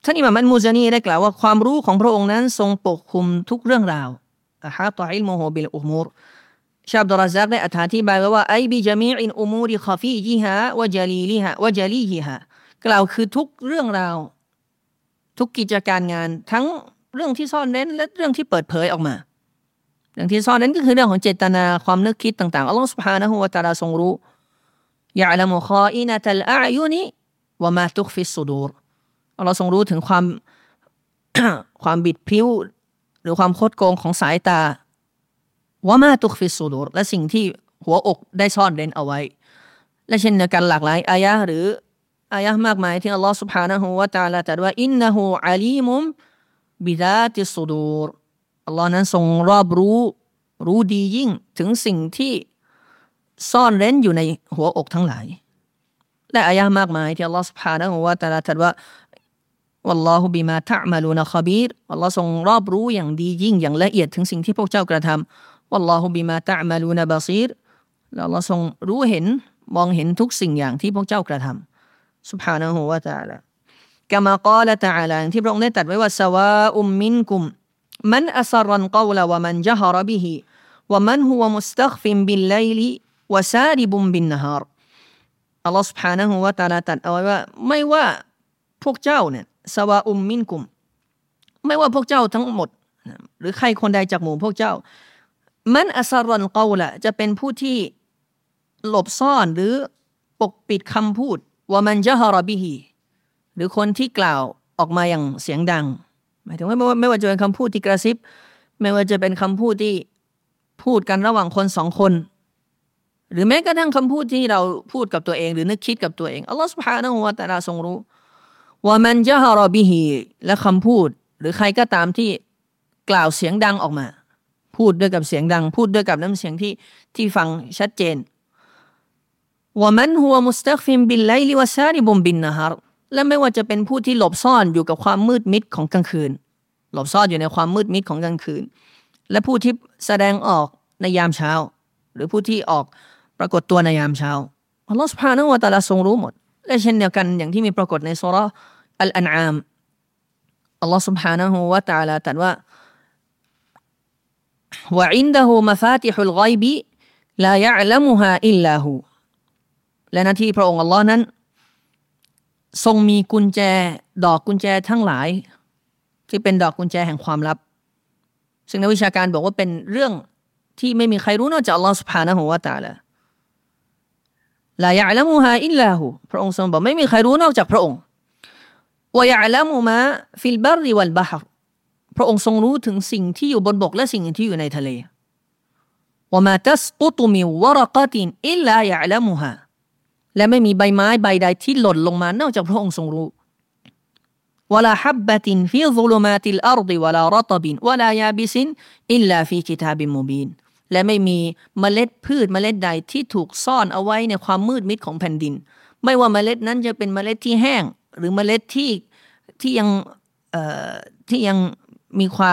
ท่านอิหม่ามอัลมูซานีได้กล่าวว่าความรู้ของพระองค์นั้นทรงปกคลุมทุกเรื่องราวอะฮาตะอิลมุฮูบิลอุมูรชาอับดุลรอซักได้อธิบายว่าไอบิจามีอินอุมูริคอฟีจิฮาวะจาลีลิฮาวะจาลีฮิฮากล่าวคือทุกเรื่องราวทุกกิจการงานทั้งเรื่องที่ซ่อนเร้นและเรื่องที่เปิดเผยออกมาเรื่องที่ซ่อนเร้นก็คือเรื่องของเจตนาความนึกคิดต่างๆอัลลอฮฺซุบฮานะฮูวะตะอาลาทรงรู้ยะอ์ละมุคออินะตัลอาอยุนิวะมาตุคฟิสซุดูรอัลลอฮฺทรงรู้ถึงความ ความบิดพริ้วหรือความคดโกงของสายตาวะมาตุคฟิสซุดูรและสิ่งที่หัวอกได้ซ่อนเร้นเอาไว้และเช่นเดียวกันหลากหลายอายะห์หรืออายะห์มากมายที่อัลลอฮฺ سبحانه และ تعالى ตรัสว่าอินนะฮูอะลีมุมบิซาติสซุดูรอัลลอฮ์นั้นทรงรอบรู้ดียิ่งถึงสิ่งที่ซ่อนเร้นอยู่ในหัวอกทั้งหลายและอายะห์มากมายที่อัลลอฮฺ سبحانه และ تعالى ตรัสว่าวัลลอฮุบิมาตะอ์มะลูนคอบีรอัลลอฮ์ทรงรอบรู้อย่างดียิ่งอย่างละเอียดถึงสิ่งที่พวกเจ้ากระทำวัลลอฮุบิมาตะอ์มะลูนบะซีรและอัลลอฮ์ทรงรู้เห็นมองเห็นทุกสิ่งอย่างที่พวกเจ้ากระทำ سبحانه และ تعالى กะมากาละตะอาลาที่พระองค์ได้ตรัสไว้ว่าซะวาอุมมินกุมมันอัศรัลกอลวะมันญะฮรบิฮิวะมันฮุวะมุสตัฆฟินบิลไลลิวะซาริบุมบินนะฮารอัลลอฮ์ سبحانه และ تعالى ตรัสเอาไว้ว่าไม่ว่าพวกเจ้าเนี่ยซะวาอุมมินกุมไม่ว่าพวกเจ้าทั้งหมดหรือใครคนใดจากหมู่พวกเจ้ามันอัศรัลกอลจะเป็นผู้ที่หลบซ่อนหรือปกปิดคำพูดว่ามันญะฮรบิฮิหรือคนที่กล่าวออกมาอย่างเสียงดังหมายถึงว่าไม่ว่าจะเป็นคำพูดที่กระซิบไม่ว่าจะเป็นคำพูดที่พูดกันระหว่างคนสองคนหรือแม้กระทั่งคำพูดที่เราพูดกับตัวเองหรือนึกคิดกับตัวเองอัลลอฮฺ سبحانه และ تعالى ทรงรู้ว่ามันญะฮรบิฮิและคำพูดหรือใครก็ตามที่กล่าวเสียงดังออกมาพูดด้วยกับเสียงดังพูดด้วยกับน้ำเสียงที่ฟังชัดเจนว่ามันหัวมุสตัฆฟินบิลไลลิวะซาริบุมบินนะฮารและไม่ว่าจะเป็นผู้ที่หลบซ่อนอยู่กับความมืดมิดของกลางคืนหลบซ่อนอยู่ในความมืดมิดของกลางคืนและผู้ที่แสดงออกในยามเช้าหรือผู้ที่ออกปรากฏตัวในยามเช้าอัลลอฮฺ سبحانه และ تعالى ทรงรู้หมดและเช่นเดียวกันอย่างที่มีปรากฏในซูเราะห์อัลอันอามอัลลอฮฺ سبحانه และ تعالى ตรัสว่าวะอินดะฮูมะฟาติฮุลฆอยบิลายะอ์ละมุฮาอิลลาฮูและหน้าที่พระองค์อัลลอฮ์นั้นทรงมีกุญแจดอกกุญแจทั้งหลายที่เป็นดอกกุญแจแห่งความลับซึ่งนักวิชาการบอกว่าเป็นเรื่องที่ไม่มีใครรู้นอกจากอัลลอฮ์ سبحانه และ تعالى ลายะอ์ละมุฮาอิลลาฮูพระองค์ทรงบอกไม่มีใครรู้นอกจากพระองค์วะยะอ์ละมุมาฟิลบัรริวัลบะฮรพระองค์ทรงรู้ถึงสิ่งที่อยู่บนบกและสิ่งที่อยู่ในทะเลวะมาตัสกุตุมิวะรกะตินอิลลายะอ์ละมุฮาและไม่มีใบไม้ใบใดที่หล่นลงมานอกจากพระองค์ทรงรู้วะลาฮับบะตินฟีซุลุมาติลอัรฎิวะลารตบินวะลายาบิซินอิลลาฟีกิตาบิมมุบีนและไม่มีเมล็ดพืชเมล็ดใดที่ถูกซ่อนเอาไว้ในความมืดมิดของแผ่นดินไม่ว่าเมล็ดนั้นจะเป็นเมล็ดที่แห้งหรือเมล็ดที่ยังมีความ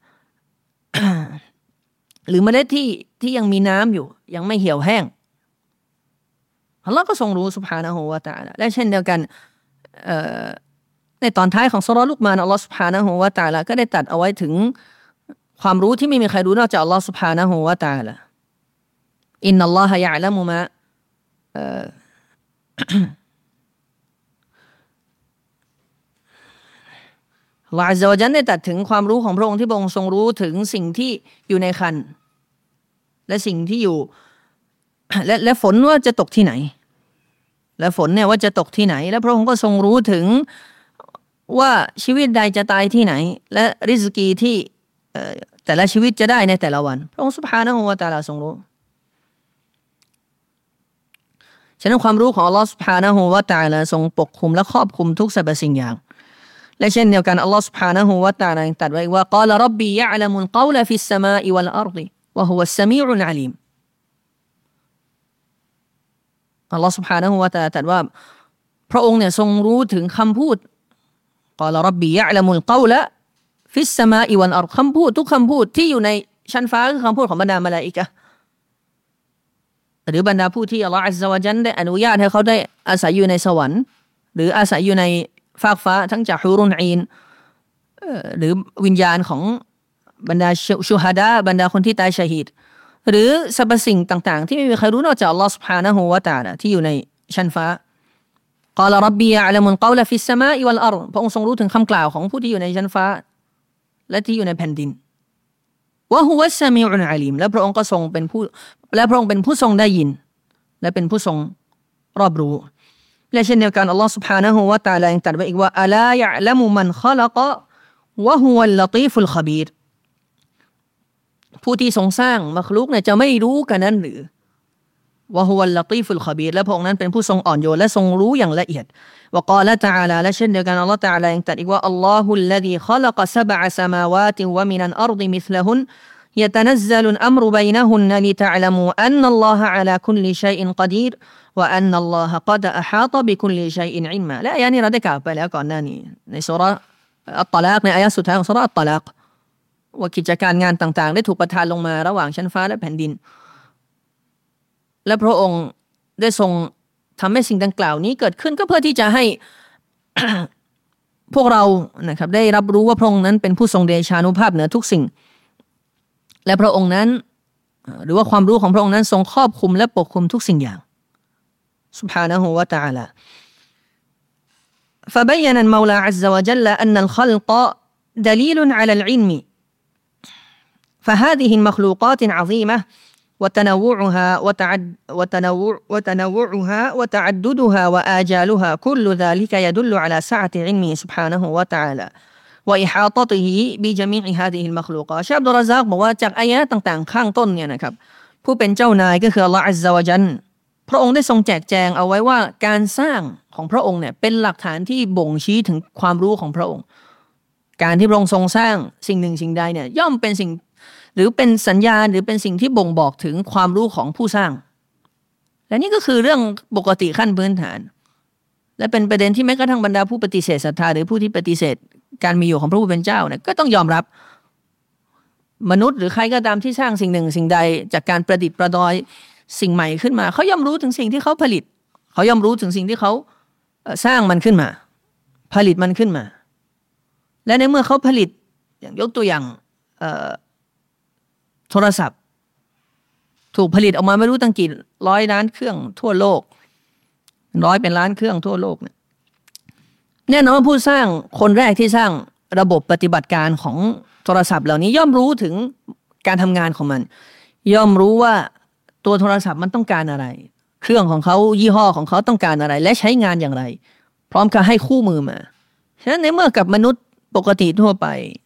หรือเมล็ดที่ยังมีน้ำอยู่ยังไม่เหี่ยวแห้งอัลลอฮ์ก็ทรงรู้ซุบฮานะฮูวะตะอาลาและเช่นเดียวกันในตอนท้ายของซูเราะห์ลุกมานอัลลอฮ์ซุบฮานะฮูวะตะอาลาก็ได้ตรัสเอาไว้ถึงความรู้ที่ไม่มีใครรู้นอกจากอัลลอฮ์ซุบฮานะฮูวะตะอาลาอินนัลลอฮะยะอ์ละมุมาอัลลอฮ์อัซซะวะญัลได้ตรัสถึงความรู้ของพระองค์ที่พระองค์ทรงรู้ถึงสิ่งที่อยู่ในครรภ์และสิ่งที่อยู่และฝนว่าจะตกที่ไหนและฝนเนี่ยว่าจะตกที่ไหนและพระองค์ก็ทรงรู้ถึงว่าชีวิตใดจะตายที่ไหนและริซกีที่แต่ละชีวิตจะได้ในแต่ละวันพระองค์ซุบฮานะฮูวะตะอาลาทรงรู้ฉะนั้นความรู้ของอัลลอฮ์ซุบฮานะฮูวะตะอาลาทรงปกคลุมและครอบคลุมทุกสรรพสิ่งอย่างและเช่นเดียวกันอัลลอฮ์ซุบฮานะฮูวะตะอาลาตรัสไว้ว่ากาลร็อบบียะอ์ละมุลกอลฟิสสมาอิวัลอัรฎิวะฮุวัสสะมีอุลอะลีมอัลลอฮฺ سبحانه และ تعالى ตรัสว่าพระองค์เนี่ยทรงรู้ถึงคำพูดกาลร็อบบียะอ์ละมุลกอลฟิสสมาอิวัลอัรฎิคำพูดทุกคำพูดที่อยู่ในชั้นฟ้าคือคำพูดของบรรดามลาอิกะฮ์หรือบรรดาผู้ที่อัลลอฮฺอัซซะวะญัลได้อนุญาตให้เขาได้อาศัยอยู่ในสวรรค์หรืออาศัยอยู่ในฟากฟ้าทั้งจากฮุรุนอีนหรือวิญญาณของบรรดาชูฮาดะบรรดาคนที่ตายชะฮีดหรือสรรพสิ่งต่างๆที่ไม่มีใครรู้นอกจากอัลลอฮฺ سبحانه และ تعالى ที่อยู่ในชั้นฟ้า قال ربي يعلم القول في السماء والأرض พระองค์ทรงรู้ถึงคำกล่าวของผู้ที่อยู่ในชั้นฟ้าและที่อยู่ในแผ่นดินว่าฮุวัสซะมีอุนอะลีมและพระองค์ก็ทรงเป็นผู้และพระองค์เป็นผู้ทรงได้ยินและเป็นผู้ทรงรอบรู้และเช่นเดียวกันอัลลอฮฺ سبحانه และ تعالى ยังตรัสไว้อีกว่าอะลายะละมุมันคอลักวะฮุวัลลตีฟุลคบีรผู้ที่ทรงสร้างมัคลุกเนี่ยจะไม่รู้กันนั้นหรือวะฮุวัลลตีฟุลคบีรและพระองค์นั้นเป็นผู้ทรงอ่อนโยนและทรงรู้อย่างละเอียดวะกาละตะอาลาและเช่นเดียวกันอัลลอฮฺ تعالى ยังตรัสอีกว่าอัลลอฮุลลซีคอลักซะบะอะซะมาวาติวะมินัลอัรฎิมิสละฮุนيتنزل الأمر بينهن لتعلموا أن الله على كل شيء قدير وأن الله قد أحاط بكل شيء علما และอายะนี้เราได้กล่าวไปแล้วก่อนหน้านี้ในซูเราะห์อัตตะลากในอายะสุดท้ายของซูเราะห์อัตตะลากว่ากิจการงานต่างๆได้ถูกประทานลงมาระหว่างชั้นฟ้าและแผ่นดินและพระองค์ได้ทรงทำให้สิ่งดังกล่าวนี้เกิดขึ้นก็เพื่อที่จะให้ พวกเรานะครับได้รับรู้ว่าพระองค์นั้นเป็นผู้ทรงเดชานุภาพเหนือทุกสิ่งและพระองค์นั้นหรือว่าความรู้ของพระองค์นั้นทรงครอบคลุมและปกคลุมทุกสิ่งอย่าง سبحانه และ تعالى فبين المولى عز وجل أن الخلق دليل على العلم فهذه المخلوقات العظيمة وتنوعها وتعددها وآجالها كل ذلك يدل على سعة علمه سبحانه وتعالى وإحاطته بجميع هذه المخلوقات ชะอับดุลรอซากบอกว่าจากอายะห์ต่างๆข้างต้นเนี่ยนะครับผู้เป็นเจ้านายก็คืออัลเลาะห์อัซซะวะญัลพระองค์ได้ทรงแจกแจงเอาไว้ว่าการสร้างของพระองค์เนี่ยเป็นหลักฐานที่บ่งชี้ถึงความรู้ของพระองค์การที่พระองค์ทรงสร้างสิ่งหนึ่งสิ่งใดเนี่ยย่อมเป็นสิ่งหรือเป็นสัญญาณหรือเป็นสิ่งที่บ่งบอกถึงความรู้ของผู้สร้างและนี่ก็คือเรื่องปกติขั้นพื้นฐานและเป็นประเด็นที่แม้กระทั่งบรรดาผู้ปฏิเสธศรัทธาหรือผู้ที่ปฏิเสธการมีอยู่ของพระผู้เป็นเจ้าเนี่ยก็ต้องยอมรับมนุษย์หรือใครก็ตามที่สร้างสิ่งหนึ่งสิ่งใดจากการประดิษฐ์ประดอยสิ่งใหม่ขึ้นมาเขาย่อมรู้ถึงสิ่งที่เขาผลิตเขาย่อมรู้ถึงสิ่งที่เขาสร้างมันขึ้นมาผลิตมันขึ้นมาและในเมื่อเขาผลิตอย่างยกตัวอย่างโทรศัพท์ถูกผลิตออกมาไม่รู้ตั้งกี่ร้อยล้านเครื่องทั่วโลกเป็นล้านเครื่องทั่วโลกเนี่ยแน่นอนว่าผู้สร้างคนแรกที่สร้างระบบปฏิบัติการของโทรศัพท์เหล่านี้ย่อมรู้ถึงการทำงานของมันย่อมรู้ว่าตัวโทรศัพท์มันต้องการอะไรเครื่องของเขายี่ห้อของเขาต้องการอะไรและใช้งานอย่างไรพร้อมกับให้คู่มือมาฉะนั้นในเมื่อกับมนุษย์ปกติทั่วไป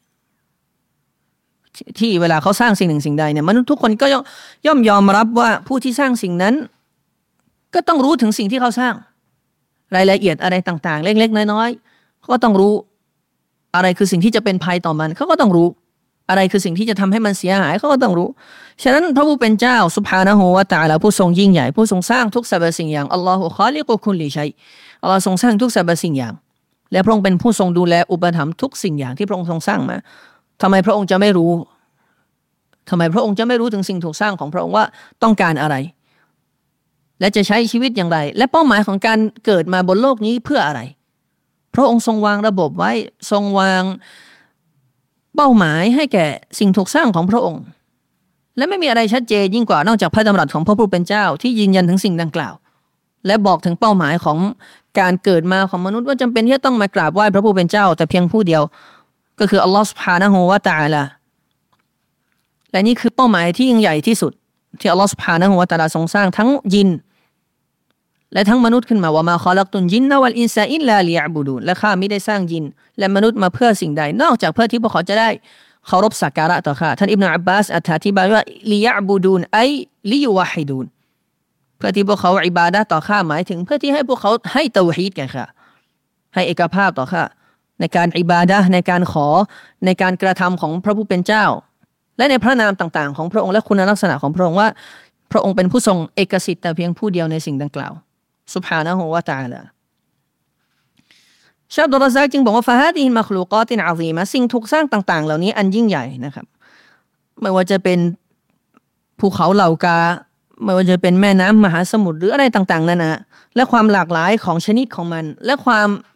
ที่เวลาเขาสร้างสิ่งหนึ่งสิ่งใดเนี่ยมนุษย์ทุกคนก็ย่อมยอมรับว่าผู้ที่สร้างสิ่งนั้นก็ต้องรู้ถึงสิ่งที่เขาสร้างรายละเอียดอะไรต่างๆเล็กๆน้อยๆเขาก็ต้องรู้อะไรคือสิ่งที่จะเป็นภัยต่อมันเขาก็ต้องรู้อะไรคือสิ่งที่จะทำให้มันเสียหายเขาก็ต้องรู้ฉะนั้นพระผู้เป็นเจ้าซุบฮานะฮูวะตะอาลาผู้ทรงยิ่งใหญ่ผู้ทรงสร้างทุกสรรพสิ่งอย่างอัลลอฮุคอลิกุคุลลิชัยอัลลอฮ์ทรงสร้างทุกสรรพสิ่งอย่างและพระองค์เป็นผู้ทรงดูแลอุปถัมภ์ทุกสิ่งอย่างที่พระองค์ทรงสร้างมาทำไมพระองค์จะไม่รู้ทำไมพระองค์จะไม่รู้ถึงสิ่งถูกสร้างของพระองค์ว่าต้องการอะไรและจะใช้ชีวิตอย่างไรและเป้าหมายของการเกิดมาบนโลกนี้เพื่ออะไรพระองค์ทรงวางระบบไว้ทรงวางเป้าหมายให้แก่สิ่งถูกสร้างของพระองค์และไม่มีอะไรชัดเจนยิ่งกว่านอกจากพระดำรัสของพระผู้เป็นเจ้าที่ยืนยันถึงสิ่งดังกล่าวและบอกถึงเป้าหมายของการเกิดมาของมนุษย์ว่าจำเป็นที่จะต้องมากราบไหว้พระผู้เป็นเจ้าแต่เพียงผู้เดียวก็คืออัลลอฮฺซุบฮานะฮูวะตะอาลาและนี่คือเป้าหมายที่ยิ่งใหญ่ที่สุดที่อัลลอฮฺซุบฮานะฮูวะตะอาลาทรงสร้างทั้งยินและทั้งมนุษย์ขึ้นมาว่ามาคอลักตุนจินนะวัลอินซาอิลลาลิยะบุดูนและข้ามิได้สร้างยินและมนุษย์มาเพื่อสิ่งใดนอกจากเพื่อที่พวกเขาจะได้เคารพสักการะต่อข้าท่านอิบนุอับบาสอธิบายว่าลิยะบุดูนไอลิยุวะฮิดูนเพื่อที่พวกเขาอิบาดะห์ต่อข้าหมายถึงเพื่อที่ให้พวกเขาให้เตาฮีดแก่ข้าให้เอกภาพต่อข้าในการอิบาดะห์ในการขอในการกระทำของพระผู้เป็นเจ้าและในพระนามต่างๆของพระองค์และคุณลักษณะของพระองค์ว่าพระองค์เป็นผู้ทรงเอกสิทธิ์แต่เพียงผู้เดียวในสิ่งดังกล่าวซุบฮานะฮูวะตะอาลาชะอับดุลรอซากจึงบอกว่าฟะฮาดิฮิลมัคลูกอตินอะซีมะสิ่งถูกสร้างต่างๆเหล่านี้อันยิ่งใหญ่นะครับไม่ว่าจะเป็นภูเขาเหล่ากาไม่ว่าจะเป็นแม่น้ำมหาสมุทรหรืออะไรต่างๆนั่นนะและความหลากหลายของชนิดของมันและความ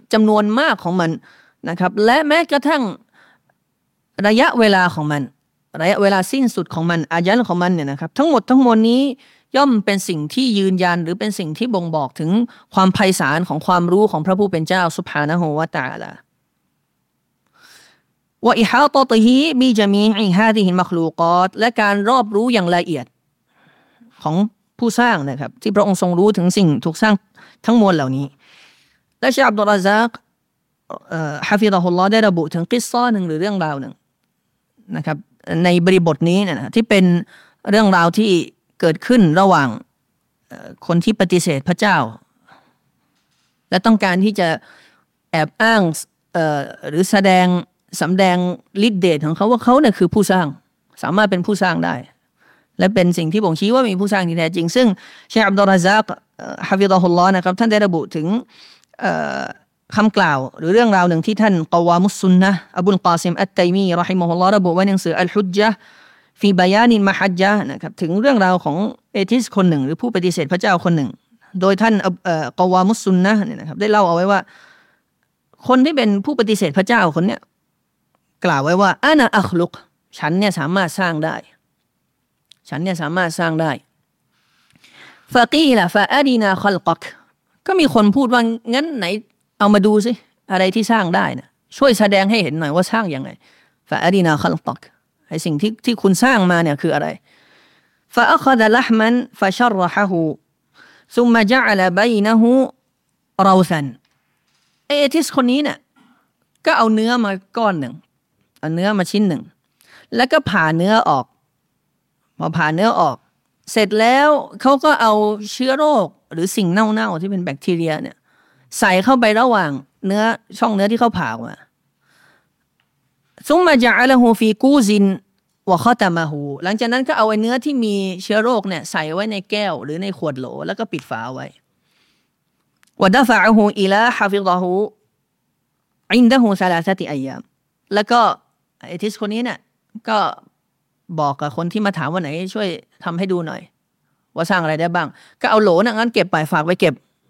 จำนวนมากของมันนะครับและแม้กระทั่งระยะเวลาของมันระยะเวลาสิ้นสุดของมันอายัลของมันเนี่ยนะครับทั้งหมดทั้งมวลนี้ย่อมเป็นสิ่งที่ยืนยันหรือเป็นสิ่งที่บ่งบอกถึงความไพศาลของความรู้ของพระผู้เป็นเจ้าซุบฮานะฮูวะตะอาลาวะอิฮาตะติฮิบิญะมีอิฮาซิฮิลมัคลูกาตและการรอบรู้อย่างละเอียดของผู้สร้างนะครับที่พระองค์ทรงรู้ถึงสิ่งถูกสร้างทั้งมวลเหล่านี้และชะอับดุลรอซากฮะฟิฎะฮุลลอฮ์ได้ระบุถึงกิสซอหนึ่งหรือเรื่องราวหนึ่งนะครับในบริบทนี้นะที่เป็นเรื่องราวที่เกิดขึ้นระหว่างคนที่ปฏิเสธพระเจ้าและต้องการที่จะแอบอ้างหรือสำแดงฤทธิ์เดชของเขาว่าเขาเนี่ยคือผู้สร้างสามารถเป็นผู้สร้างได้และเป็นสิ่งที่บ่งชี้ว่ามีผู้สร้างที่แท้จริงซึ่งเชคอับดุลรอซากฮะฟิฎะฮุลลอฮ์นะครับท่านได้ระบุถึงคำกล่าวหรือเรื่องราวหนึ่งที่ท่านกอวามุสซุนนะห์อบุลกอซิมอัตตัยมีเราะฮิมะฮุลลอฮ์ระบุไว้ในหนังสืออัลฮุจญะห์ฟีบะยานิลมะฮัจญะห์นะครับถึงเรื่องราวของเอทิสคนหนึ่งหรือผู้ปฏิเสธพระเจ้าคนหนึ่งโดยท่านกอวามุสซุนนะห์เนี่ยนะครับได้เล่าเอาไว้ว่าคนที่เป็นผู้ปฏิเสธพระเจ้าคนเนี้ยกล่าวไว้ว่าอานะอัคลุกฉันเนี่ยสามารถสร้างได้ฉันเนี่ยสามารถสร้างได้ฟะกีละฟะอาดีนาคัลกักก็มีคนพูดว่างั้นไหนเอามาดูสิอะไรที่สร้างได้นะช่วยแสดงให้เห็นหน่อยว่าสร้างยังไงฟะอาดีนาคัลกักไอ้สิ่งที่คุณสร้างมาเนี่ยคืออะไรฟะอัคซะละห์มันฟะชัรรฮะฮูซุมมะญะอะละบัยนะฮูเราซันเอทิสคนนี้เนี่ยก็เอาเนื้อมาก้อนหนึ่งเอาเนื้อมาชิ้นหนึ่งแล้วก็ผ่าเนื้อออกพอผ่าเนื้อออกเสร็จแล้วเขาก็เอาเชื้อโรคหรือสิ่งเน่าๆที่เป็นแบคทีเรียเนี่ยใส่เข้าไประหว่างเนื้อช่องเนื้อที่เขาผ่าออกมาซุมมะญะอะละฮูฟีกูซินวะคอตะมะฮูหลังจากนั้นก็เอาไอ้เนื้อที่มีเชื้อโรคเนี่ยใส่ไว้ในแก้วหรือในขวดโหลแล้วก็ปิดฝาไว้วะดะฟะอะฮูอิลาฮะฟิฎะฮูอินดะฮูซะลาซะติอัยยามแล้วก็ไอ้ทิสคนนี้เนี่ยก็บอกกับคนที่มาถามว่าไหนช่วยทำให้ดูหน่อยว่าสร้างอะไรได้บ้างก็เอาโหลนะงั้นเก็บไปฝากไว้เก็บ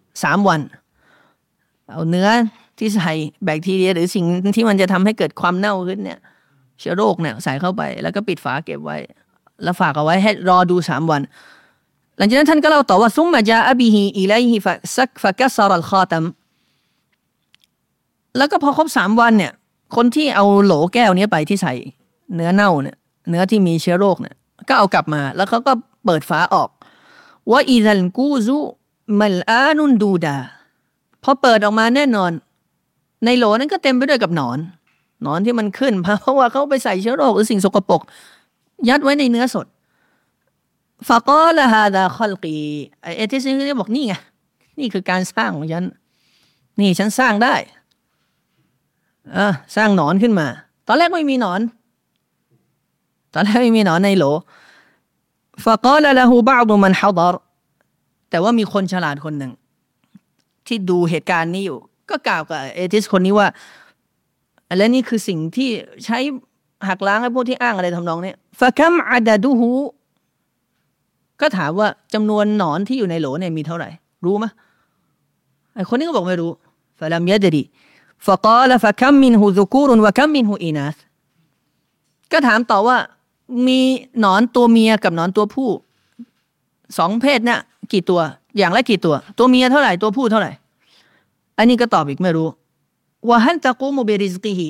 3 วันเอาเนื้อที่ใส่แบคทีเรียหรือสิ่งที่มันจะทำให้เกิดความเน่าขึ้นเนี่ยเชื้อโรคเนี่ยใส่เข้าไปแล้วก็ปิดฝาเก็บไว้แล้วฝากเอาไว้ให้รอดู3 วันหลังจากนั้นท่านก็เล่าต่อว่าซุมมะญาอะบิฮิอิลัยฮิฟะกัสรัลคอตัมแล้วก็พอครบ3 วันเนี่ยคนที่เอาโหลแก้วนี้ไปที่ใส่เนื้อเน่าเนี่ยเนื้อที่มีเชื้อโรคเนี่ยก็เอากลับมาแล้วเขาก็เปิดฝาออกว่าอิซัลกูซุมัลอานุนดูดาพอเปิดออกมาแน่นอนในโหลนั้นก็เต็มไปด้วยกับหนอนที่มันขึ้นเพราะว่าเขาไปใส่เชื้อโรคหรือสิ่งสกปรกยัดไว้ในเนื้อสดฟะกอละฮาซาคัลกีไอ้ที่ซึ่งได้บอกนี่ไงนี่คือการสร้างของฉันนี่ฉันสร้างได้สร้างหนอนขึ้นมาตอนแรกไม่มีหนอนในโหลฟะกอละละฮูบะอ์ฎุมันฮะฎอรแต่ว่ามีคนฉลาดคนหนึ่งที่ดูเหตุการณ์นี้อยู่ก็กล่าวกับเอทิสคนนี้ว่าและนี่คือสิ่งที่ใช้หักล้างให้พวกที่อ้างอะไรทำนองนี้ฟะคัมอะดะดุฮูก็ถามว่าจำนวนหนอนที่อยู่ในโหลเนี่ยมีเท่าไหร่รู้มั้ยไอ้คนนี้ก็บอกไม่รู้ฟะลัมยะดรีฟะกาลฟะคัมมินฮูซุกูรวะคัมมินฮูอินาสก็ถามต่อว่ามีหนอนตัวเมียกับหนอนตัวผู้2 เพศเนี่ยกี่ตัวอย่างละกี่ตัวเมียเท่าไหร่ตัวผู้เท่าไหร่อันนี้ก็ตอบอีกไม่รู้วะฮัลตะกูมุบิริซกิฮิ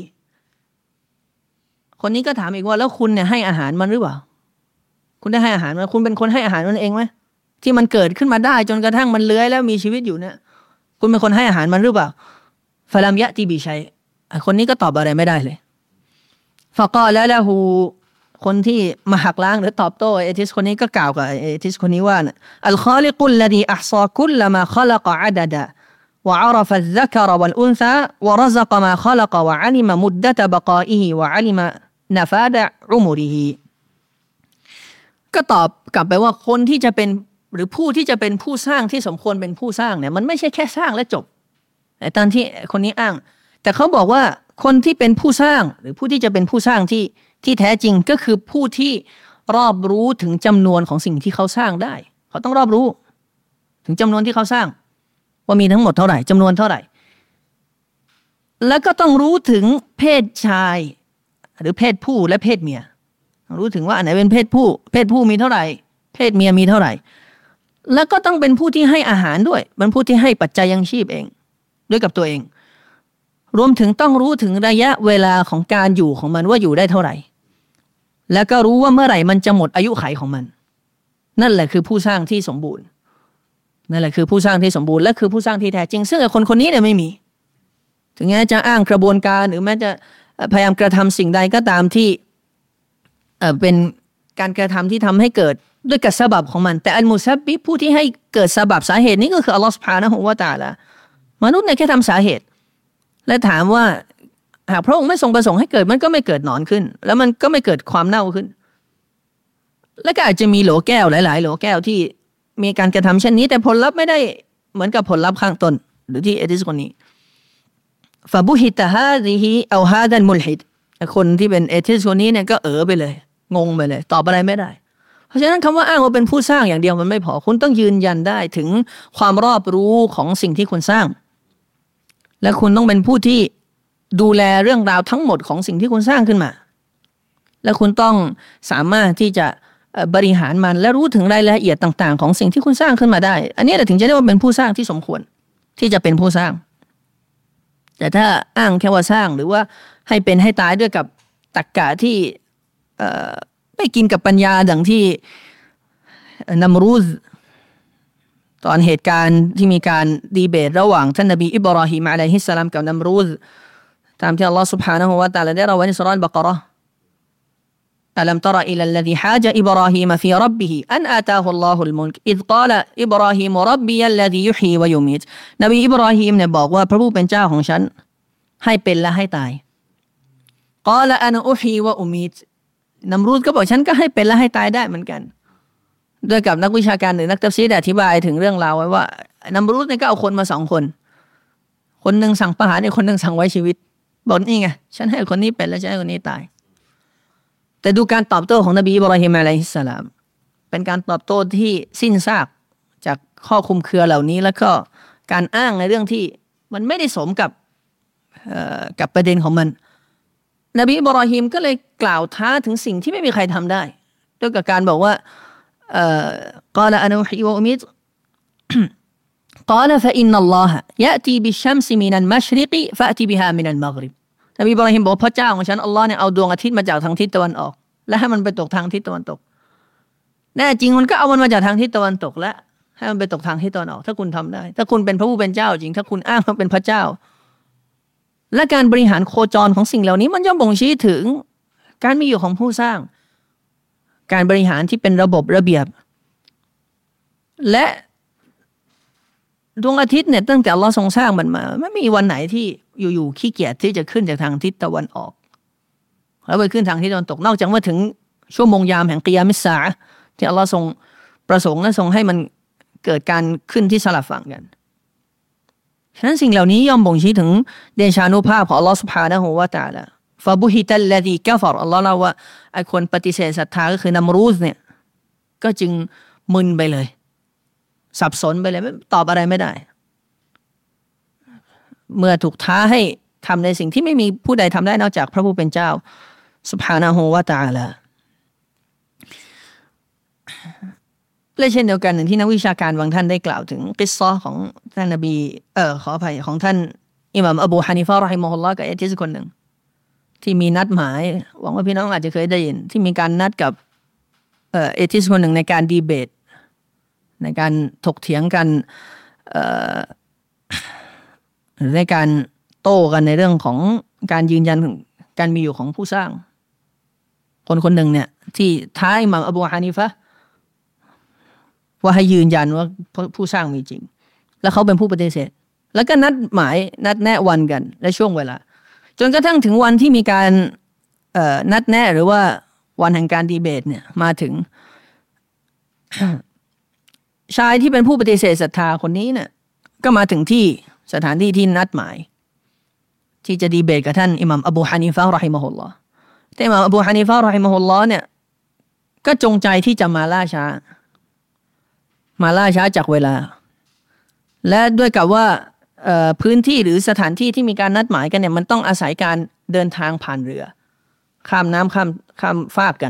คนนี้ก็ถามอีกว่าแล้วคุณเนี่ยให้อาหารมันหรือเปล่าคุณได้ให้อาหารมันคุณเป็นคนให้อาหารมันเองไหมที่มันเกิดขึ้นมาได้จนกระทั่งมันเลื้อยแล้วมีชีวิตอยู่เนี่ยคุณเป็นคนให้อาหารมันหรือเปล่าฟะลัมยะติบิชัยคนนี้ก็ตอบอะไรไม่ได้เลยฟะกอละละฮูคนที่มาหักล้างหรือตอบโต้เอทิสคนนี้ก็กล่าวกับเอทิสคนนี้ว่าอัลคอลิกุลลดีอัห์ซาคุลมาคอลักอะดะดะوعرف الذكر والأنثى ورزق ما خلق وعلم مدة بقائه وعلم نفاد عمره ก็ตอบกลับไปว่าคนที่จะเป็นหรือผู้ที่จะเป็นผู้สร้างที่สมควรเป็นผู้สร้างเนี่ยมันไม่ใช่แค่สร้างและจบแต่ตอนที่คนนี้อ้างแต่เขาบอกว่าคนที่เป็นผู้สร้างหรือผู้ที่จะเป็นผู้สร้างที่แท้จริงก็คือผู้ที่รอบรู้ถึงจำนวนของสิ่งที่เขาสร้างได้เขาต้องรอบรู้ถึงจำนวนที่เขาสร้างว่ามีทั้งหมดเท่าไหร่จำนวนเท่าไหร่แล้วก็ต้องรู้ถึงเพศชายหรือเพศผู้และเพศเมียรู้ถึงว่าอันไหนเป็นเพศผู้มีเท่าไหร่เพศเมียมีเท่าไหร่แล้วก็ต้องเป็นผู้ที่ให้อาหารด้วยเป็นผู้ที่ให้ปัจจัยยังชีพเองด้วยกับตัวเองรวมถึงต้องรู้ถึงระยะเวลาของการอยู่ของมันว่าอยู่ได้เท่าไหร่แล้วก็รู้ว่าเมื่อไหร่มันจะหมดอายุขัยของมันนั่นแหละคือผู้สร้างที่สมบูรณ์นั่นแหละคือผู้สร้างที่สมบูรณ์และคือผู้สร้างที่แท้จริงซึ่งคนคนนี้เนี่ยไม่มีถึงแม้จะอ้างกระบวนการหรือแม้จะพยายามกระทำสิ่งใดก็ตามที่เป็นการกระทำที่ทำให้เกิดด้วยกับซะบับของมันแต่อัลมุซับบิบผู้ที่ให้เกิดซะบับสาเหตุนี้ก็คืออัลลอฮฺซุบฮานะฮูวะตะอาลามนุษย์เนี่ยแค่ทำสาเหตุและถามว่าหากพระองค์ไม่ทรงประสงค์ให้เกิดมันก็ไม่เกิดหนอนขึ้นแล้วมันก็ไม่เกิดความเน่าขึ้นและก็อาจจะมีโหลแก้วหลายๆโหลแก้วที่มีการกระทำเช่นนี้แต่ผลลัพธ์ไม่ได้เหมือนกับผลลัพธ์ข้างต้นหรือที่เอติสคนนี้ฟะบุฮิตะฮาซิฮิเอาฮาดันมุลฮิดคนที่เป็นเอติสคนนี้เนี่ยก็ไปเลยงงไปเลยตอบอะไรไม่ได้เพราะฉะนั้นคำว่าอ้างว่าเป็นผู้สร้างอย่างเดียวมันไม่พอคุณต้องยืนยันได้ถึงความรอบรู้ของสิ่งที่คุณสร้างและคุณต้องเป็นผู้ที่ดูแลเรื่องราวทั้งหมดของสิ่งที่คุณสร้างขึ้นมาและคุณต้องสามารถที่จะบริหารมันและรู้ถึงรายละเอียดต่างๆของสิ่งที่คุณสร้างขึ้นมาได้อันนี้แหละถึงจะเรียกว่าเป็นผู้สร้างที่สมควรที่จะเป็นผู้สร้างแต่ถ้าอ้างแค่ว่าสร้างหรือว่าให้เป็นให้ตายด้วยกับตรรกะที่ไม่กินกับปัญญาดังที่นัมรูซตอนเหตุการณ์ที่มีการดีเบตระหว่างท่านนบีอิบราฮิมอะลัยฮิสสลามกับนัมรูซตามที่อัลลอฮฺ سبحانه และ تعالى ได้ระบุไว้ในซูเราะห์อัลบะเกาะเราะห์อะลัมตะรออิลัลลซีฮาจอิบราฮิมฟีร็อบบิฮิอันอาตาฮุลลอฮุลมุลกอิซกาลอิบราฮิมร็อบบิยัลลซียุฮีวะยุมีตนบีอิบราฮิมเนี่ยบอกว่าพระผู้เป็นเจ้าของฉันให้เป็นและให้ตายกาลอะนะอุฮีวะอุมีตนัมรูซก็บอกฉันก็ให้เป็นและให้ตายได้เหมือนกันด้วยกับนักวิชาการหรือนักตัฟซีรอธิบายถึงเรื่องราวไว้ว่านัมรูซเนี่ยก็เอาคนมา2คนคนนึงสั่งประหารอีกคนนึงสั่งไว้ชีวิตบอกนี่ไงฉันให้คนนี้เป็นและฉันให้คนนี้ตายแต่ดูการตอบโต้ของนบีอิบราฮิมอะลัยฮิสสลามเป็นการตอบโต้ที่สิ้นซากจากข้อคลุมเครือเหล่านี้แล้วก็การอ้างในเรื่องที่มันไม่ได้สมกับประเด็นของมันนบีอิบราฮิมก็เลยกล่าวท้าถึงสิ่งที่ไม่มีใครทำได้ด้วยกับการบอกว่ากาลอะนูฮีวะอุมิตกาลฟะอินนัลลอฮะยะตีบิชชัมซิมินัลมัชริกฟะอติบิฮามินัลมัฆริบนบีอิบราฮิมบอกพระเจ้าของฉันอัลลอฮ์เนี่ยเอาดวงอาทิตย์มาจากทางทิศตะวันออกและให้มันไปตกทางทิศตะวันตกแน่จริงมันก็เอามันมาจากทางทิศตะวันตกและให้มันไปตกทางทิศตะวันออกถ้าคุณทำได้ถ้าคุณเป็นพระผู้เป็นเจ้าจริงถ้าคุณอ้างว่าเป็นพระเจ้าและการบริหารโคจรของสิ่งเหล่านี้มันย่อมบ่งชี้ถึงการมีอยู่ของผู้สร้างการบริหารที่เป็นระบบระเบียบและดวงอาทิตย์เนี่ยตั้งแต่อัลเลาะห์ทรงสร้างมันมาไม่มีวันไหนที่อยู่ๆขี้เกียจที่จะขึ้นจากทางทิศตะวันออกแล้วไปขึ้นทางทิศตะวันตกนอกจากว่าถึงชั่วโมงยามแห่งกิยามิสซาอะห์ที่อัลเลาะห์ทรงประสงค์และทรงให้มันเกิดการขึ้นที่สลับฝั่งกันฉะนั้นสิ่งเหล่านี้ย่อมบ่งชี้ถึงเดชานุภาพของอัลเลาะห์ซุบฮานะฮูวะตะอาลาฟะบุฮิตัลลซีกะฟรอัลเลาะห์เล่าว่าไอ้คนปฏิเสธศรัทธาก็คือนัมรูซเนี่ยก็จึงมึนไปเลยสับสนไปเลยตอบอะไรไม่ได้เมื่อถูกท้าให้ทำในสิ่งที่ไม่มีผู้ใดทำได้นอกจากพระผู้เป็นเจ้าซุบฮานะฮูวะตะอาลาและเช่นเดียวกันหนึ่งที่นักวิชาการบางท่านได้กล่าวถึงกิสซอของท่านนบีขออภัยของท่านอิหม่ามอบูฮานิฟะห์เราะฮิมะฮุลลอฮ์กับเอติสคนหนึ่งที่มีนัดหมายหวังว่าพี่น้องอาจจะเคยได้ยินที่มีการนัดกับเอติสคนหนึ่งในการดีเบตในการถกเถียงกันในการโต้กันในเรื่องของการยืนยันการมีอยู่ของผู้สร้างคนหนึ่งเนี่ยที่ท้าอิหม่ามอบูฮานิฟะห์ว่าให้ยืนยันว่าผู้สร้างมีจริงแล้วเขาเป็นผู้ปฏิเสธแล้วก็นัดหมายนัดแนะวันกันและช่วงเวลาจนกระทั่งถึงวันที่มีการนัดแนะหรือว่าวันแห่งการดีเบตเนี่ยมาถึง ชายที่เป็นผู้ปฏิเสธศรัทธาคนนี้เนี่ยก็มาถึงที่สถานที่ที่นัดหมายที่จะดีเบตกับท่านอิหม่ามอบูฮานิฟะห์เราะฮิมะฮุลลอฮ์แต่อิหม่ามอบูฮานิฟะห์เราะฮิมะฮุลลอฮ์เนี่ยก็จงใจที่จะมาล่าช้าจากเวลาและด้วยกับว่าพื้นที่หรือสถานที่ที่มีการนัดหมายกันเนี่ยมันต้องอาศัยการเดินทางผ่านเรือข้ามน้ำข้ามฟากกัน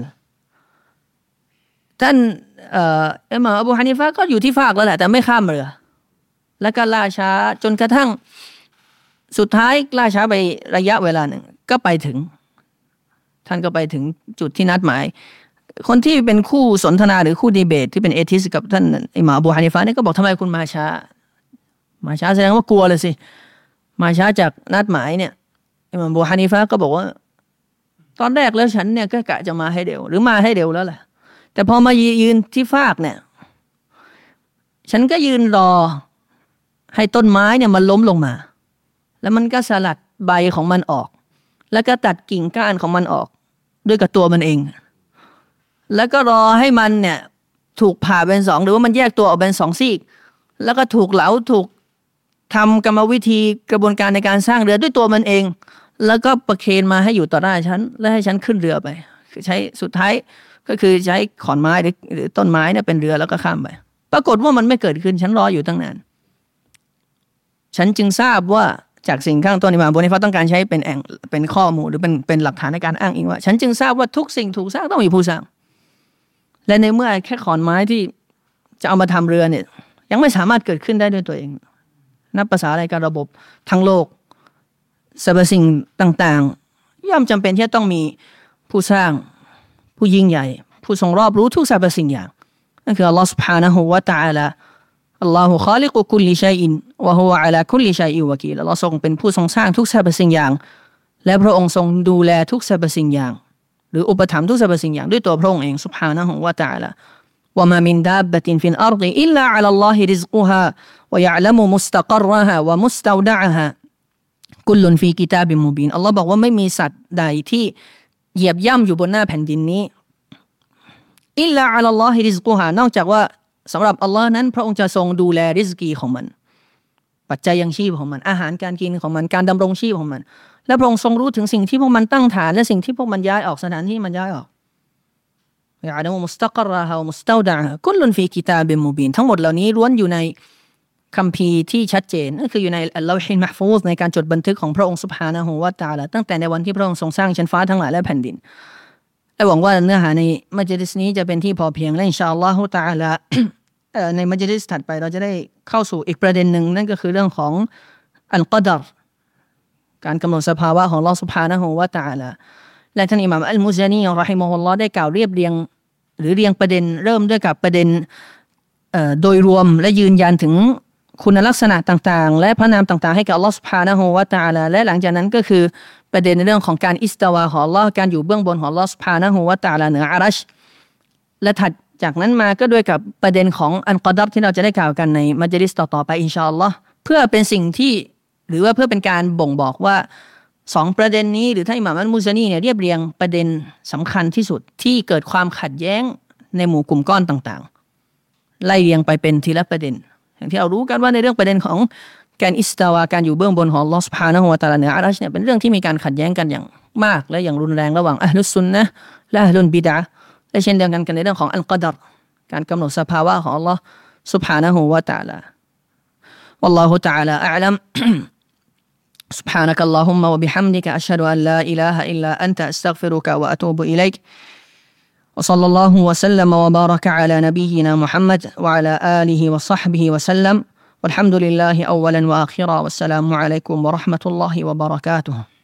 ท่านอิหม่ามอบูฮานิฟะห์ก็อยู่ที่ฟากแล้วแหละแต่ไม่ข้ามเรือแล้วก็ล่าช้าจนกระทั่งสุดท้ายล่าช้าไประยะเวลาหนึ่งก็ไปถึงท่านก็ไปถึงจุดที่นัดหมายคนที่เป็นคู่สนทนาหรือคู่ดีเบตที่เป็นเอทิสกับท่านอิหม่ามอบูฮานิฟะห์เนี่ยก็บอกทำไมคุณมาช้าแสดงว่ากลัวเลยสิมาช้าจากนัดหมายเนี่ยอิหม่ามอบูฮานิฟะห์ก็บอกว่าตอนแรกแล้วฉันเนี่ยก็กะจะมาให้เร็วหรือมาให้เร็วแล้วแหละแต่พอมายืนที่ฟากเนี่ยฉันก็ยืนรอให้ต้นไม้เนี่ยมันล้มลงมาแล้วมันก็สลัดใบของมันออกแล้วก็ตัดกิ่งก้านของมันออกด้วยกับตัวมันเองแล้วก็รอให้มันเนี่ยถูกผ่าเป็นสองหรือว่ามันแยกตัวออกเป็นสองซีกแล้วก็ถูกเหลาถูกทำกรรมวิธีกระบวนการในการสร้างเรือด้วยตัวมันเองแล้วก็ประเคนมาให้อยู่ต่อหน้าฉันและให้ฉันขึ้นเรือไปคือใช้สุดท้ายก็คือใช้ขอนไม้หรือต้นไม้เนี่ยเป็นเรือแล้วก็ข้ามไปปรากฏว่ามันไม่เกิดขึ้นฉันรออยู่ตั้งนานฉันจึงทราบว่าจากสิ่งข้างต้นอิหม่ามอบูฮานิฟะห์ต้องการใช้เป็นข้อมูลหรือเป็นหลักฐานในการอ้างอิงว่าฉันจึงทราบว่าทุกสิ่งถูกสร้างต้องมีผู้สร้างและในเมื่อแค่ขอนไม้ที่จะเอามาทำเรือเนี่ยยังไม่สามารถเกิดขึ้นได้ด้วยตัวเองนับภาษาอะไรกับระบบทั้งโลกสรรพสิ่งต่างๆย่อมจำเป็นที่จะต้องมีผู้สร้างผู้ยิ่งใหญ่ผู้ทรงรอบรู้ทุกสรรพสิ่งอย่างนั่นคืออัลลอฮฺ سبحانه และ تعالى อัลลอฮฺคอลิกุคุลลิชัยอินวะฮุวะอะลาคุลลิชัยอินวะกีลอัลลอฮฺทรงเป็นผู้ทรงสร้างทุกสรรพสิ่งอย่างและพระองค์ทรงดูแลทุกสรรพสิ่งอย่างหรืออุปถัมภ์ทุกสรรพสิ่งอย่างด้วยตัวพระองค์เอง سبحانه และ تعالى วะมามินดาบบะตินฟิลอัรฎิอิลลาอะลัลลอฮิริซกุฮาวะยะอ์ละมุมุสตะกัรรฮาวะมุสตาวดะอฮากุลลุนฟีกิตาบิมมุบีนอัลลอฮ์บอกว่าไม่มีสัตว์ใดที่เหยียบย่ำอยู่บนหน้าแผ่นดินนี้อิลลาอะลัลลอฮิริซกุฮานอกจากว่าสำหรับอัลลอฮ์นั้นพระองค์จะทรงดูแลริซกีของมันปัจจัยยังชีพของมันอาหารการกินของมันการดำรงชีพของมันและพระองค์ทรงรู้ถึงสิ่งที่พวกมันตั้งฐานและสิ่งที่พวกมันย้ายออกสถานที่มันย้ายออกยะอ์ละมุมุสตะกัรรฮาวะมุสตาวดะอฮากุลลุนฟีกิตาบิมมุบีนทั้งหมดเหล่านี้ล้วนอยู่ในคัมภีร์ที่ชัดเจนนั่นคืออยู่ในอัลลอฮิลมะห์ฟูซในการจดบันทึกของพระองค์ซุบฮานะฮูวะตะอาลาตั้งแต่ในวันที่พระองค์ทรงสร้างชั้นฟ้าทั้งหลายและแผ่นดินและหวังว่าเนื้อหาในมัจลิสนี้จะเป็นที่พอเพียงและอินชาอัลลอฮุตะอาลาในมัจลิสถัดไปเราจะได้เข้าสู่อีกประเด็นหนึ่งนั่นก็คือเรื่องของอัลกอดรการกำหนดสภาวะของอัลเลาะห์ซุบฮานะฮูวะตะอาลาและท่านอิหม่ามอัลมุซานีเราะฮิมะฮุลลอฮ์ได้กล่าวเรียบเรียงหรือเรียงประเด็นเริ่มด้วยกับประเด็นโดยรวมและยืนยันถึงคุณลักษณะต่างๆและพระนามต่างๆให้กับอัลเลาะห์ซุบฮานะฮูวะตะอาลาและหลังจากนั้นก็คือประเด็นในเรื่องของการอิสตาวาของอัลเลาะห์การอยู่เบื้องบนของอัลเลาะห์ซุบฮานะฮูวะตะอาลาเหนืออารัชและถัดจากนั้นมาก็ด้วยกับประเด็นของอัลกอดรที่เราจะได้กล่าวกันในมัจลิสต่อๆไปอินชาอัลลอฮ์เพื่อเป็นสิ่งที่หรือว่าเพื่อเป็นการบ่งบอกว่าสองประเด็นนี้หรือท่านอิหม่ามอัลมุซานีเนี่ยเรียบเรียงประเด็นสำคัญที่สุดที่เกิดความขัดแย้งในหมู่กลุ่มก้อนต่างๆไล่เรียงไปเป็นทีละประเด็นอย่างที่เรารู้กันว่าในเรื่องประเด็นของการอิสตาวาการอยู่เบื้องบนของอัลเลาะห์ซุบฮานะฮูวะตะอาลาเหนืออารัชเนี่ยเป็นเรื่องที่มีการขัดแย้งกันอย่างมากและอย่างรุนแรงระหว่างอะห์ลุสซุนนะห์และอะห์ลุลบิดอะห์และเช่นเดียวกันในเรื่องของอัลกอดรการกำหนดสภาวะของอัลเลาะห์ซุบฮานะฮูวะตะอาลาวัลลอฮุตะอาลาอะอ์ลัมسبحانك اللهم وبحمدك أشهد أن لا إله إلا أنت أستغفرك وأتوب إليك وصلى الله وسلم وبارك على نبينا محمد وعلى آله وصحبه وسلم والحمد لله أولا وآخرا والسلام عليكم ورحمة الله وبركاته